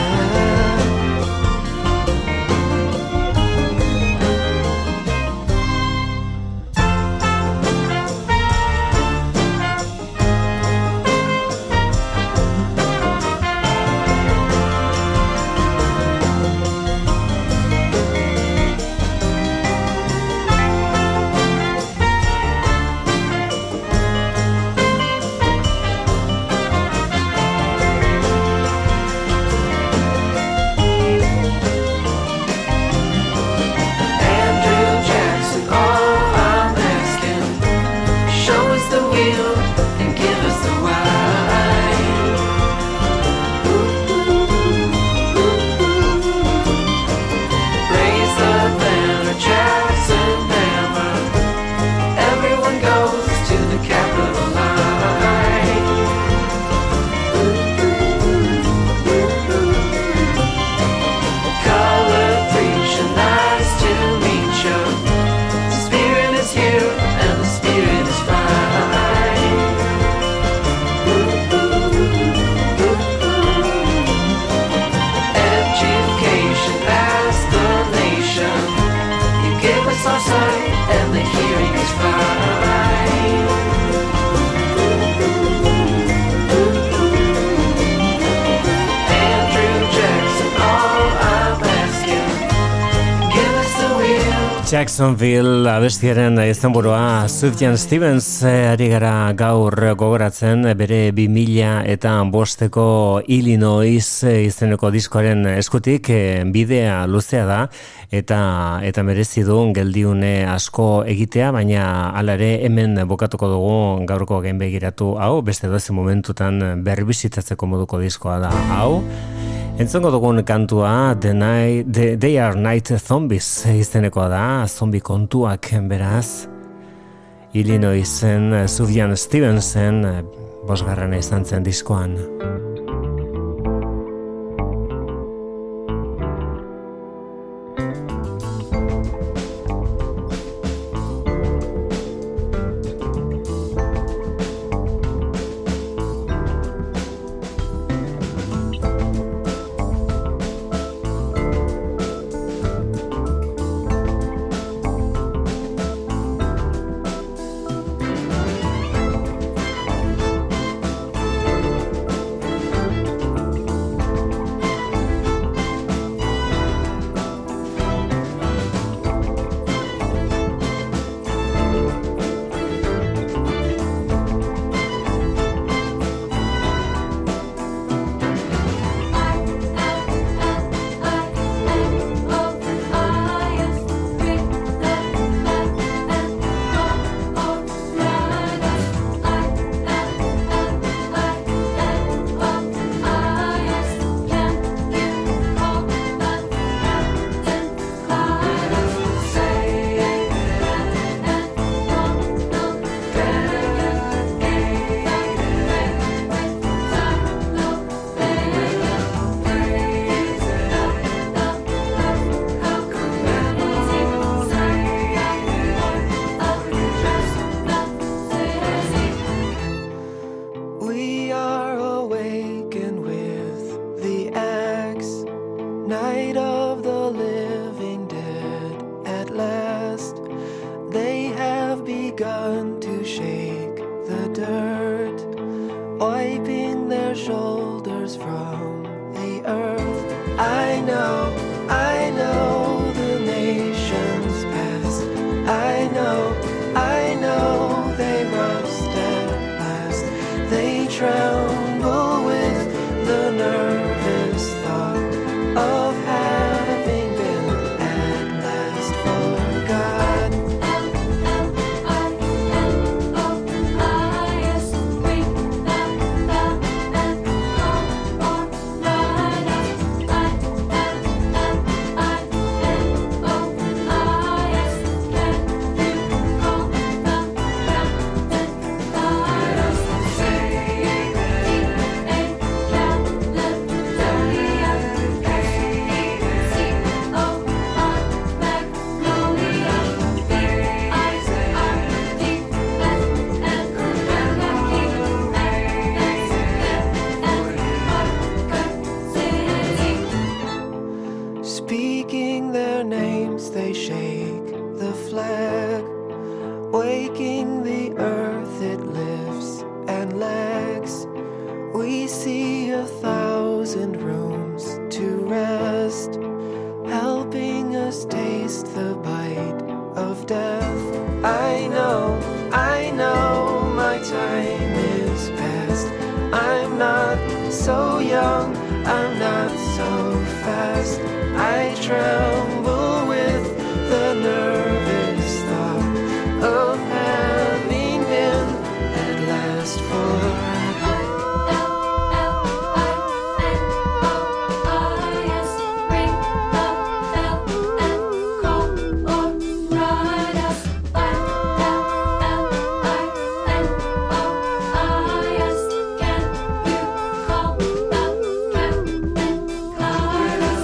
Jacksonville abestiaren izenburua Sufjan Stevens ari gara gaur gogoratzen bere 2005ko Illinois izeneko diskoaren eskutik bidea luzea da eta merezi du geldiune asko egitea, baina hala ere hemen bokatuko dugu gaurko gainbegiratu hau, beste dozen momentutan berbizitatzeko moduko diskoa da hau. Entzongo dugun kantua They Are Night Zombies izenekoa da, zombi kontuak beraz. Illinoisen Sufjan Stevensen bosgarrena izan zen diskoan. wiping their shoulders from the earth. I know the nation's past. I know they rust at last. They tremble with the nervous thought of having been at last forgot. L-L-I-L-O-I-S, ring the bell and call or write us. I-L-L-I-L-O-I-S, can you call the captain? Guide us. Speaking their names, they shake the flag, waking the earth, it lifts and lags. We see 1,000 rooms to rest, helping us taste the bite of death. I know my time is past. I'm not so young, I'm not so fast. I tremble with the nervous thought of having been at last forgotten. L-L-I-L-O-I-S, ring the bell and call or write us. L-L-I-L-O-I-S, can you call the captain? Guide us.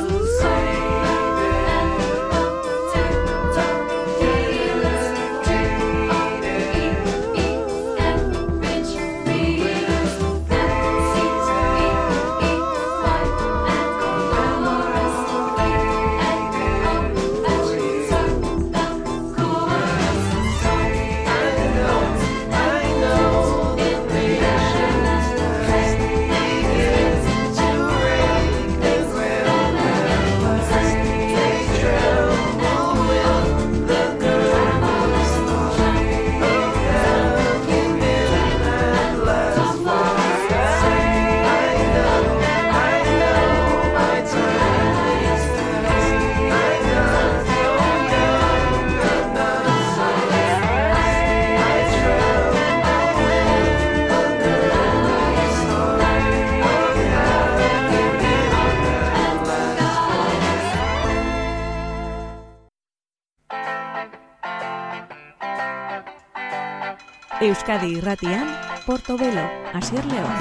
Euskadi Irratian, Portobelo, Asier Leoz.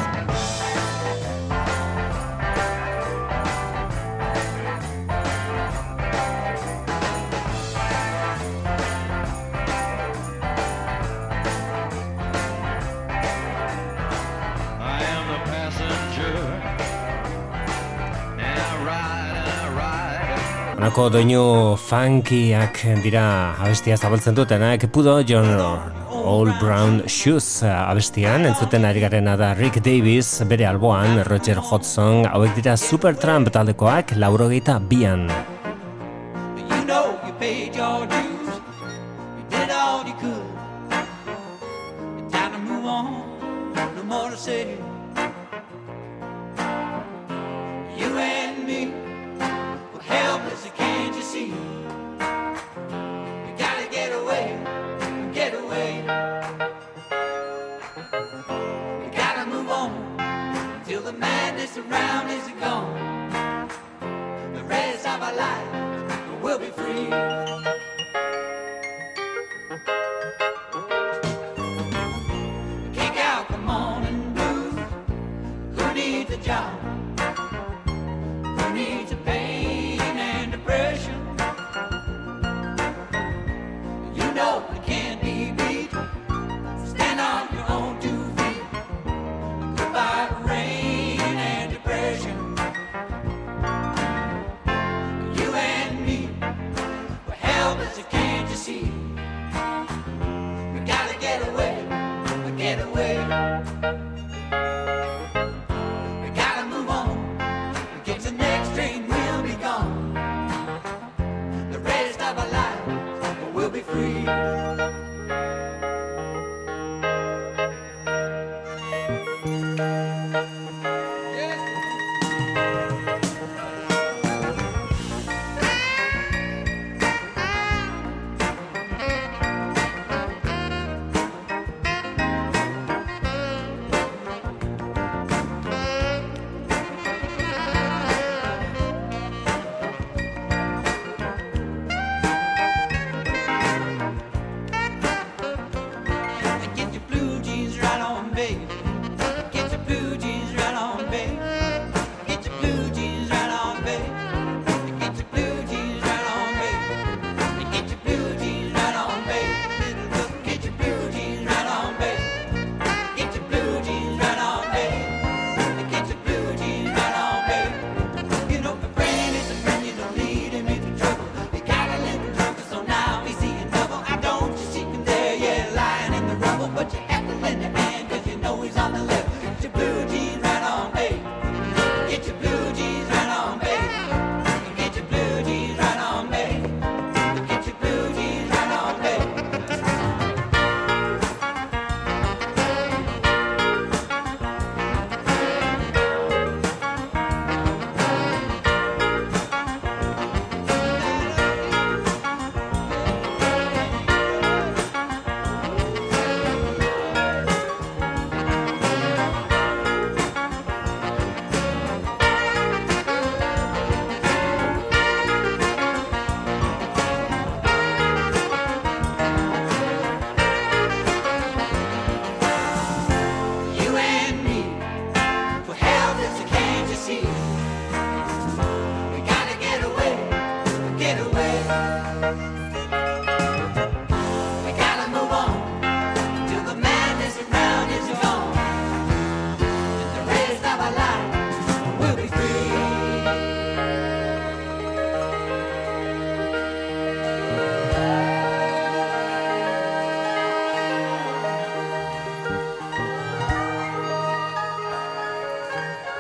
Honako doinu funkiak dira abestia zabaltzen dutenak. Pudo John All Brown Shoes abestian entzuten ari garena da Rick Davis bere alboan, Roger Hodgson, hauek dira Supertramp taldekoak 82an. You know you paid your dues, you did all you could. It's time to move on, no more to say. You and me, we're helpless, can't you see? We gotta get away, get away. We gotta move on, till the madness around is gone. The rest of our life we'll be free. Kick out the morning blues. Who needs a job? Who needs a pain and depression? You know it can't be beat. Stand on your own 2 feet. Goodbye rain and depression. You and me, we're helpless, can't you see? We gotta get away, get away.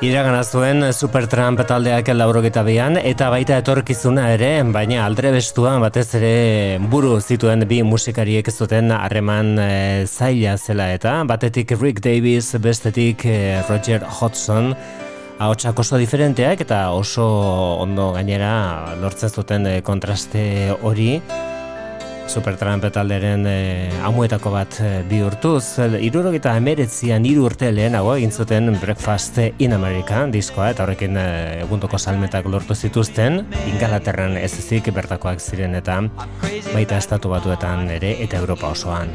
Iragana zuen Supertramp taldeak 82an eta baita etorkizuna ere, baina aldrebestua batez ere buru zituen bi musikariek zuten harreman zaila zela eta batetik Rick Davies, bestetik Roger Hodgson, ahotsak oso diferenteak eta oso ondo gainera lortzen zuten kontraste hori. Supertramp talderen amuetako bat bihurtuz, 79an 3 urte lehenago egin zuten Breakfast in America diskoa, eta horrekin egundoko salmetak lortu zituzten, Ingalaterran ez ezik bertakoak ziren eta baita Estatu Batuetan ere eta Europa osoan.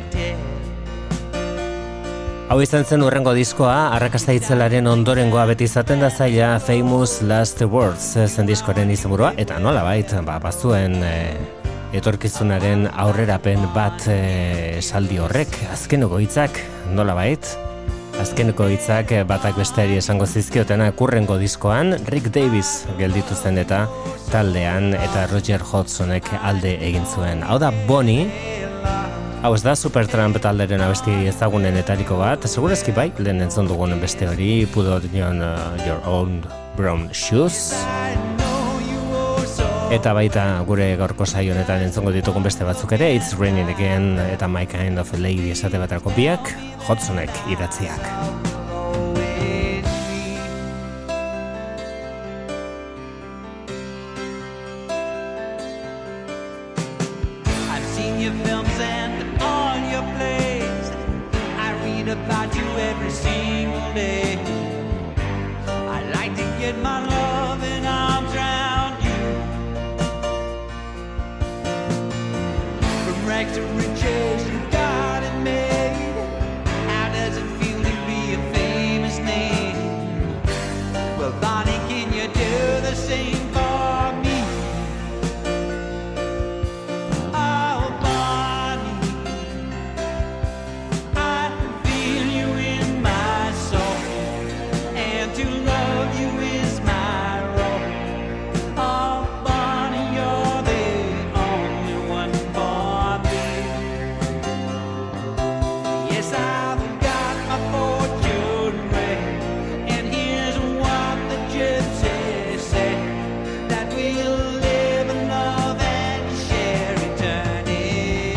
Hau izan zen hurrengo diskoa, arrakasta itzelaren ondorengoa beti izaten da zaila Famous Last Words zen diskoaren izenburua, eta nolabait bazuen etorkizunaren aurrerapen bat esaldi horrek, azkeneko hitzak nolabait, azkeneko hitzak batak besteari esango zizkiotena kurrengo diskoan Rick Davies gelditu zen eta taldean eta Roger Hodgsonek alde egin zuen. Hau da Bonnie, hau ez da Supertramp talderen abesti ezagunenetariko bat, segurazki bai, lehen entzun dugun beste hori, Put on Your Own Brown Shoes. Eta baita gure gaurko saio honetan entzongo ditugun beste batzuk ere, It's Raining Again eta My Kind of a Lady esate baterako biak, Hodgsonek idatziak. I've seen your films and all your plays. I read about you every single day. I like to get my loving arms around you. From rags to riches, you got it made. How does it feel to be a famous name? Well, Bonnie, can you do the same for me? Oh, Bonnie, I feel you in my soul, and to love you is my role. Oh, Bonnie, you're the only one for me. Yes, I've got my fortune read, and here's what the gypsies say, that we'll live in love and share eternity.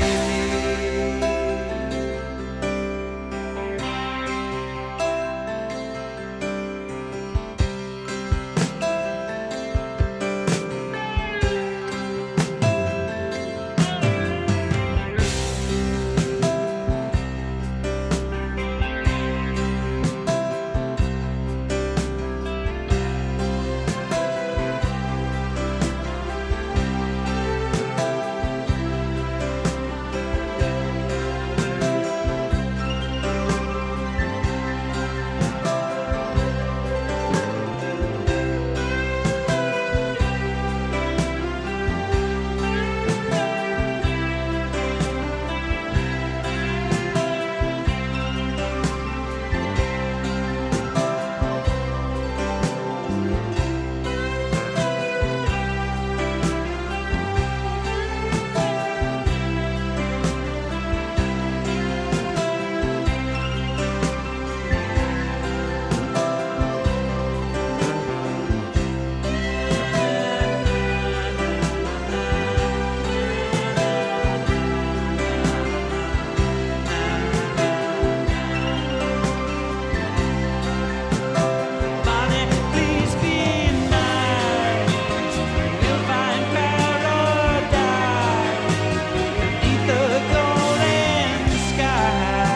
Bonnie, please be mine. We'll find paradise beneath the golden sky.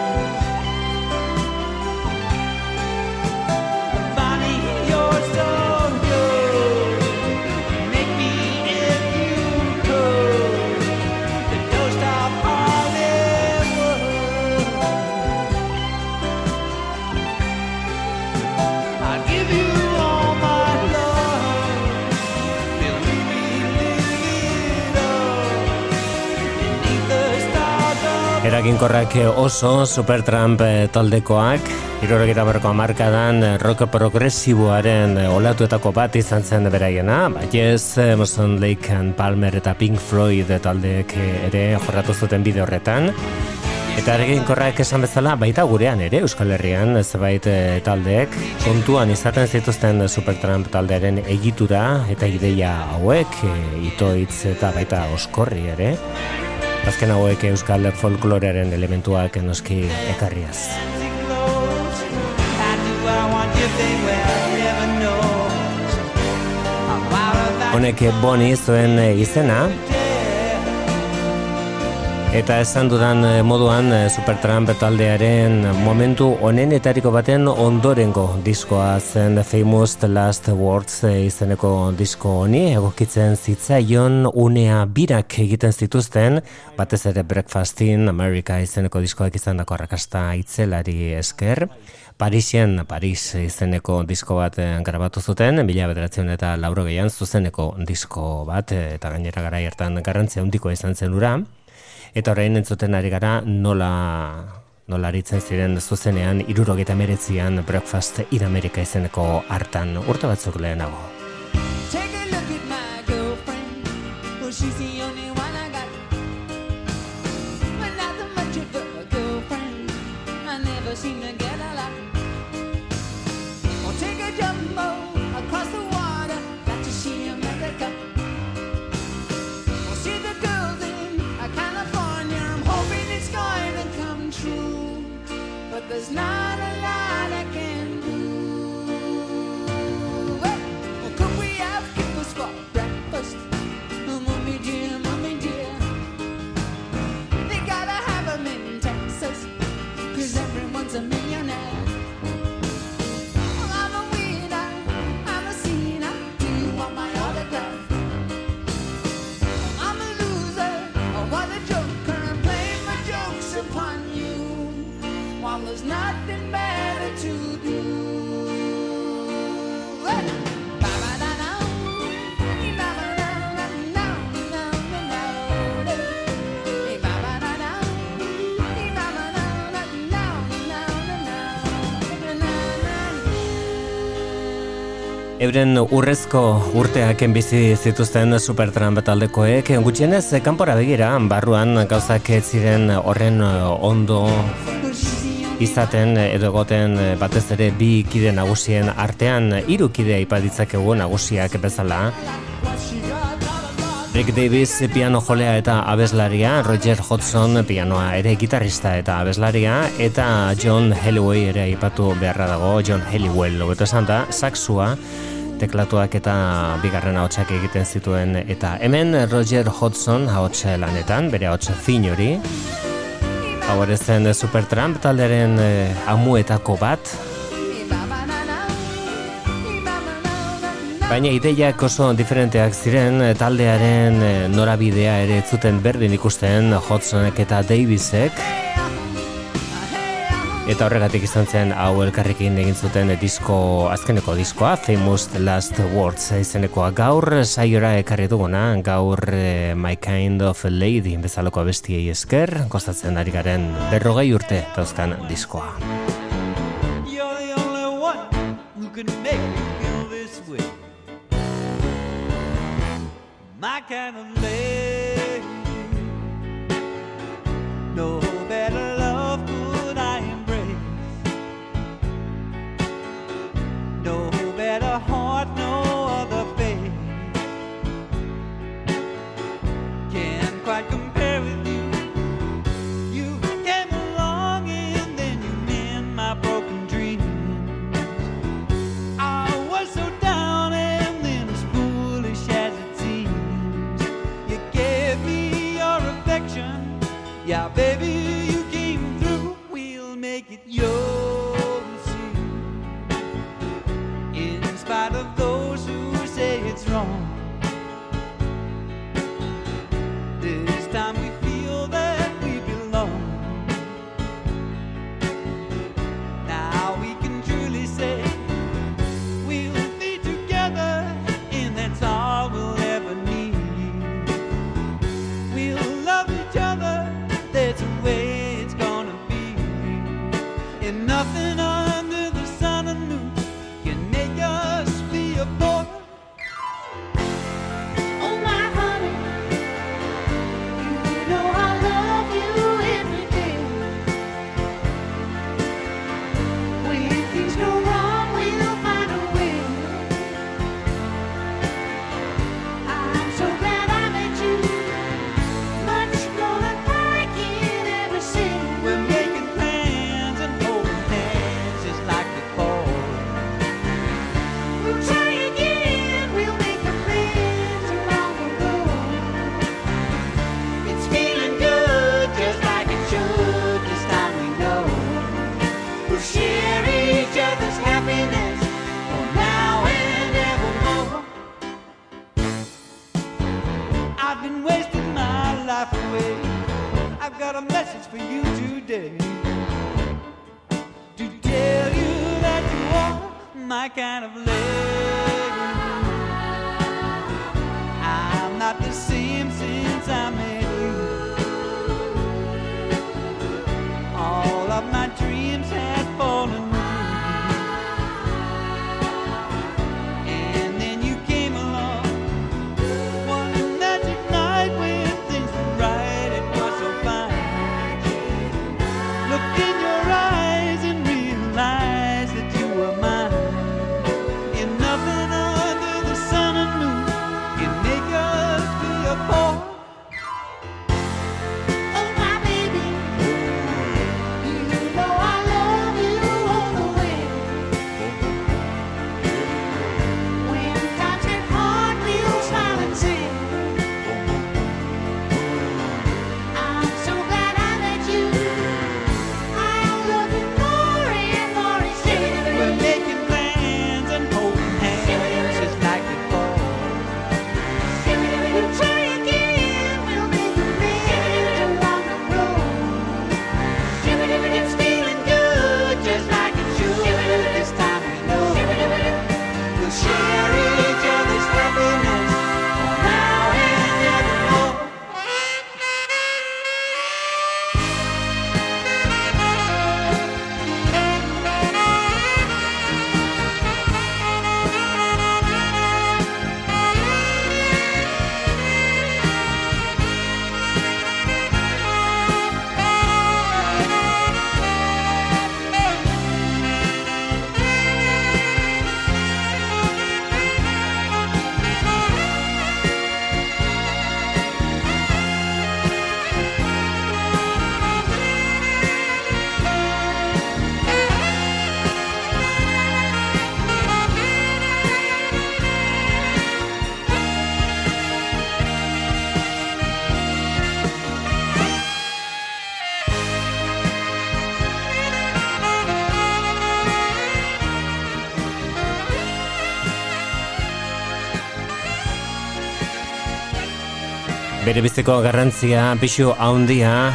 Bonnie, you're so good. Make me, if you could, the toast of Hollywood. I'll give you all my love till we live it up beneath the stars of Eraginkorrak oso Supertramp taldekoak, 70ko hamarkadan rock progresiboaren olatuetako bat izan zen beraiena, Yes, Emerson, Lake and Palmer eta Pink Floyd taldeek ere jorratu zuten bide horretan. Eta eraginkorrak esan bezala, baita gurean ere, Euskal Herrian, zebait taldeek, kontuan izaten zituzten Supertramp taldearen egitura eta ideia hauek, itoitz eta baita oskorri ere. Azken hauek Euskal folklorearen elementuak noski ekarriaz. Honek Boni zuen izena, eta esan dudan moduan Supertramp taldearen momentu honenetariko baten ondorengo diskoa zen Famous Last Words izeneko disko honi, egokitzen zitzaion unea birak egiten zituzten, batez ere Breakfast in America izeneko diskoak izandako arrakasta itzelari esker. Paris izeneko disko bat grabatu zuten, 1980 zuzeneko disko bat, eta gainera garai hartan garrantzia handikoa izan zen ura. Eta orain entzuten ari gara nola aritzen ziren zuzenean 1979an Breakfast in America izeneko hartan urte batzuk lehenago. Take a look at my girlfriend. Well, she's the only one I got. But not that much of a girlfriend. I never seem to get a lot. Well, take a jumbo across the water. Got to see America. Well, see the girls in California. I'm hoping it's going to come true. But there's not a lot I can do. Could we have kippers for breakfast? Mommy dear. They gotta have them in Texas, 'cause everyone's a millionaire. Well, I'm a winner, I'm a sinner. Do you want my autograph? I'm a loser, what a joker. I'm playing my jokes upon you, while there's nothing better to do. Euren urrezko urteak bizi zituzten Supertramp taldekoek, gutxienez kanpora begira, barruan gauzak ez ziren horren ondo izaten edo egoten, batez ere bi kide nagusien artean, 3 kide aipa ditzakegu nagusiak bezala. Rick Davis piano jolea eta abeslaria, Roger Hodgson pianoa ere gitarrista eta abeslaria, eta John Halliwell ere aipatu beharra dago, John Halliwell, hobeto esan da, saxua, teklatuak eta bigarren ahotsak egiten zituen, eta hemen Roger Hodgson ahots lanetan, bere ahots fin hori, hau ere zen Supertramp taldearen amuetako bat, baina ideiak oso diferenteak ziren, taldearen norabidea ere ez zuten berdin ikusten Hodgsonek eta Davisek, eta horregatik izan zen hau elkarrekin egin zuten azkeneko diskoa, Famous Last Words izenekoa. Gaur saiora ekarri duguna, gaur My Kind of Lady bezalako abestiei esker, kostatzen ari garen 40 urte dauzkan diskoa. You're the only one who can make me feel this way. My kind of lady. No better love could I embrace. No better heart, no other face. Can't quite compare with you. You came along and then you mend my broken dreams. I was so down and then as foolish as it seems. You gave me your affection. Yeah, baby, you came through. We'll make it yours. In spite of my kind of lady. I'm not the same since I met you. All of my dreams had fallen through. And then you came along one magic night when things were right. It was so fine. Looked in your eyes and realized that you were mine. And nothing under the sun and moon can make us be apart. Oh, my baby, you know I love you all the way. When times get hard, we'll smile and sing. I'm so glad I met you. I'll love you more and more each We're day. making plans and holding hands just like before. We'll try again, we'll make amends along the road. It's feeling good, just like it should. This time we know We'll share each other's happiness for now and evermore. Bere biziko garrantzia pixu handia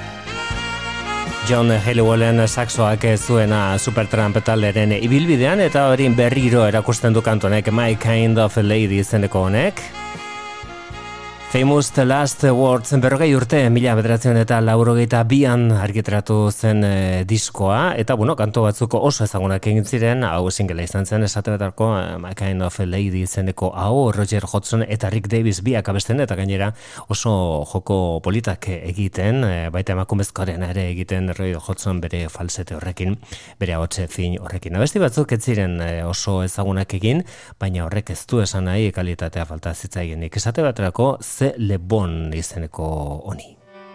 John Helliwellen saxoak zuena Supertramp talderen ibilbidean eta hori berriro erakusten du kantu honek My Kind of Lady izeneko honek. Famous The Last Words, 40 urte, 1982an argitaratu zen diskoa, eta kantu batzuko oso ezagunak egin ziren, hau singela izan zen esate betarko My Kind of Lady izeneko hau, Roger Hodgson eta Rick Davis biak abesten, eta gainera oso joko politak egiten, baita emakumezkoaren ere egiten Roger Hodgson bere falsete horrekin, bere ahotse fin horrekin. Abesti batzuk ez ziren oso ezagunak egin, baina horrek ez du esan nahi kalitatea falta zitzaigenik. Esate baterako Le Bon izeneko honi.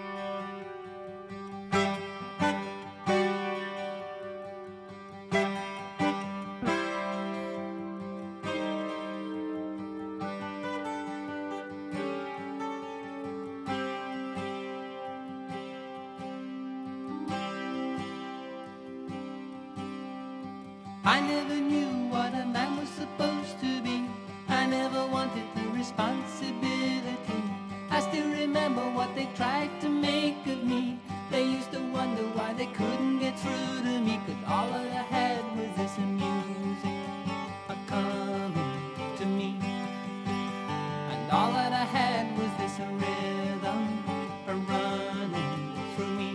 I never knew what a man was supposed to be. I never wanted the responsibility. I still remember what they tried to make of me. They used to wonder why they couldn't get through to me, 'cause all I had was this music coming to me. And all that I had was this rhythm running through me.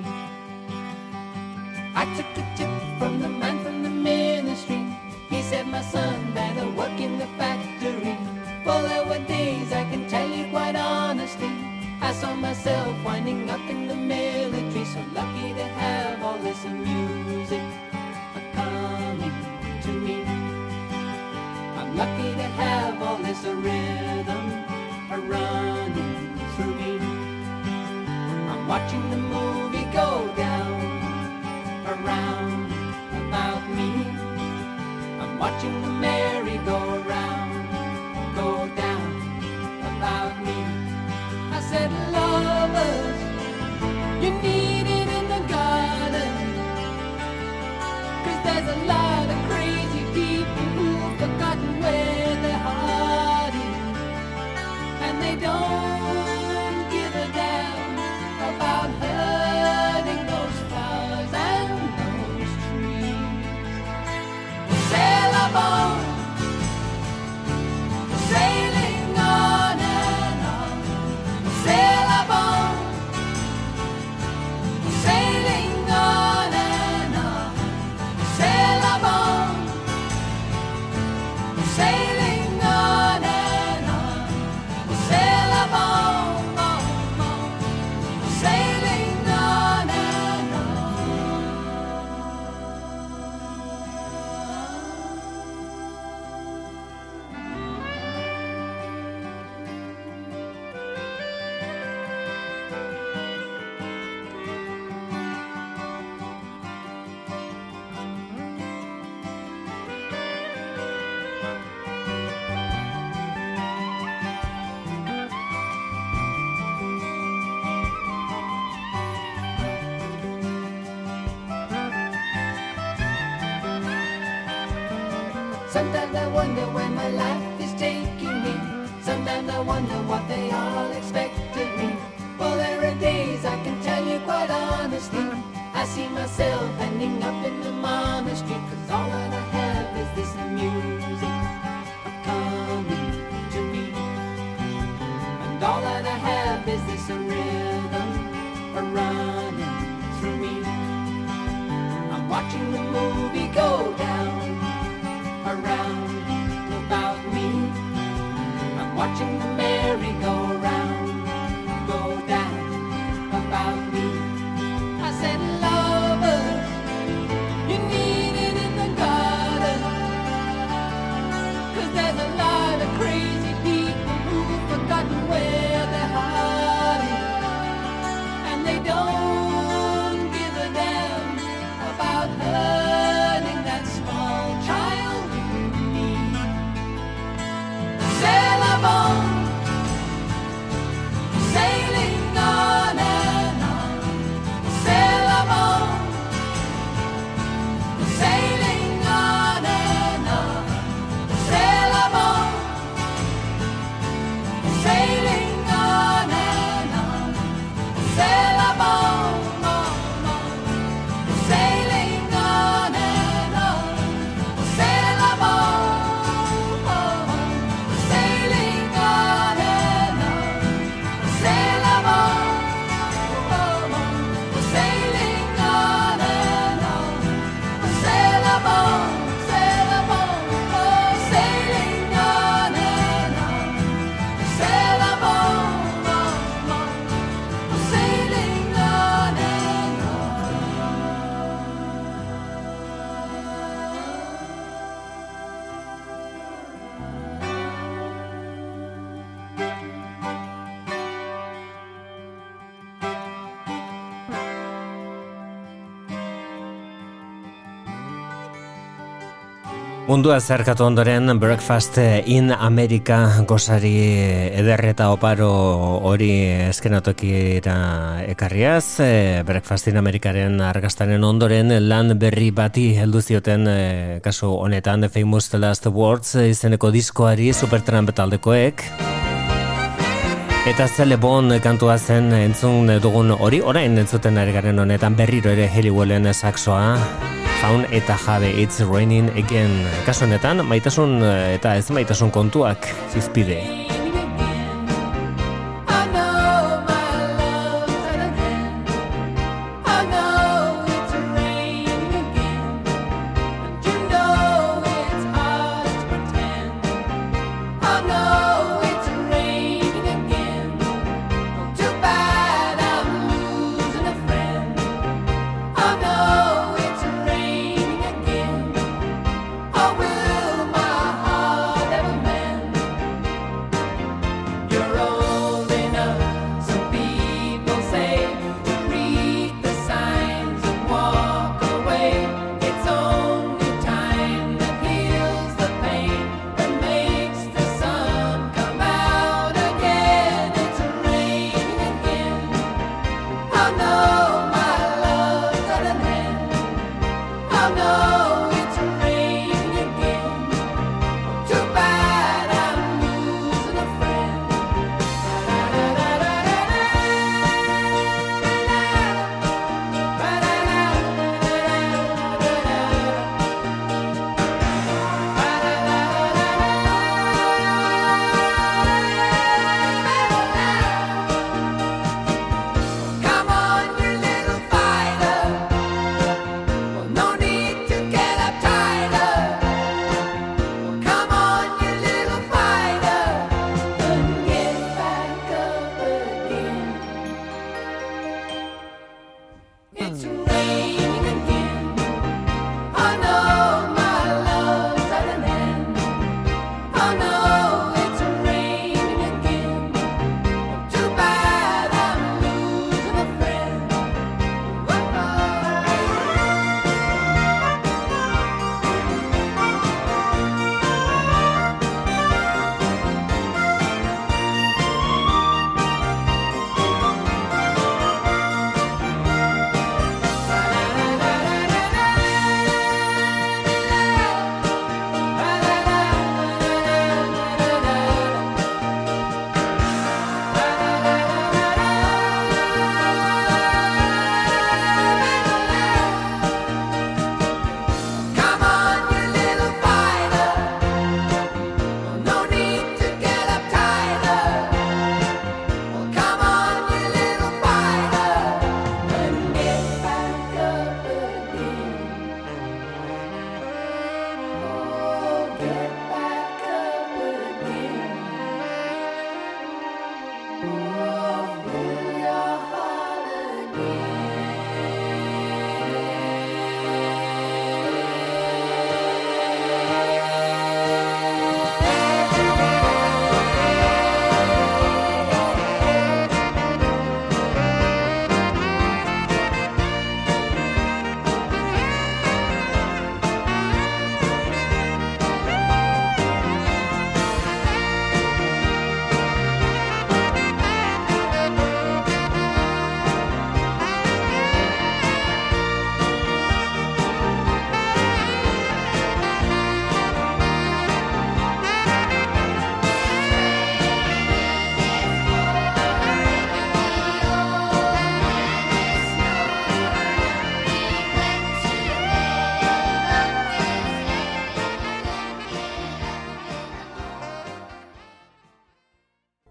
I took a tip from the man from the ministry. He said, my son, better work in the factory. Well, there were days, I can tell you quite honestly, I saw myself winding up in the military. So lucky to have all this music coming to me. I'm lucky to have all this rhythm running through me. I'm watching the movie go down around about me. I'm watching the merry-go-round go down about me. I said, lovers, you need it in the garden, 'cause there's a lot of crazy people who've forgotten where their heart is, and they don't give a damn about hurting those flowers and those trees. Sail up on Sometimes I wonder where my life is taking me. Sometimes I wonder what they all expect of me. Well, there are days I can tell you quite honestly, I see myself ending up in the monastery, 'cause all that I have is this music coming to me. And all that I have is this rhythm running through me. I'm watching the movie go down around about me. I'm watching the merry-go-round go down about me. I said, lovers, you need it in the garden, 'cause there's a lot of crazy people who've forgotten where their heart is, and they don't give a damn about hurting that small child in me. Sail on, sailing on and on. Sail on, sailing on and on. Sail on, sailing on and on. Sail on, sailing on and on. Sail on, sailing on and on. Sail on, sailing on and on. Sail on, sail on, sailing on and on. Sail on, sailing on and Mundua zerkatu ondoren Breakfast in America gozari ederreta oparo hori eskenatokira ekarriaz, Breakfast in Americaren argaztaren ondoren lan berri bati heldu zioten, kasu honetan The Famous Last Words izeneko diskoari Supertramp taldekoek. Eta Celle Bon kantua zen entzun dugun hori, orain entzuten ari garen honetan berriro ere Halliwellen saxoa. Jaun eta jabe, It's Raining Again. Kasu honetan, maitasun eta ez maitasun kontuak zizpide.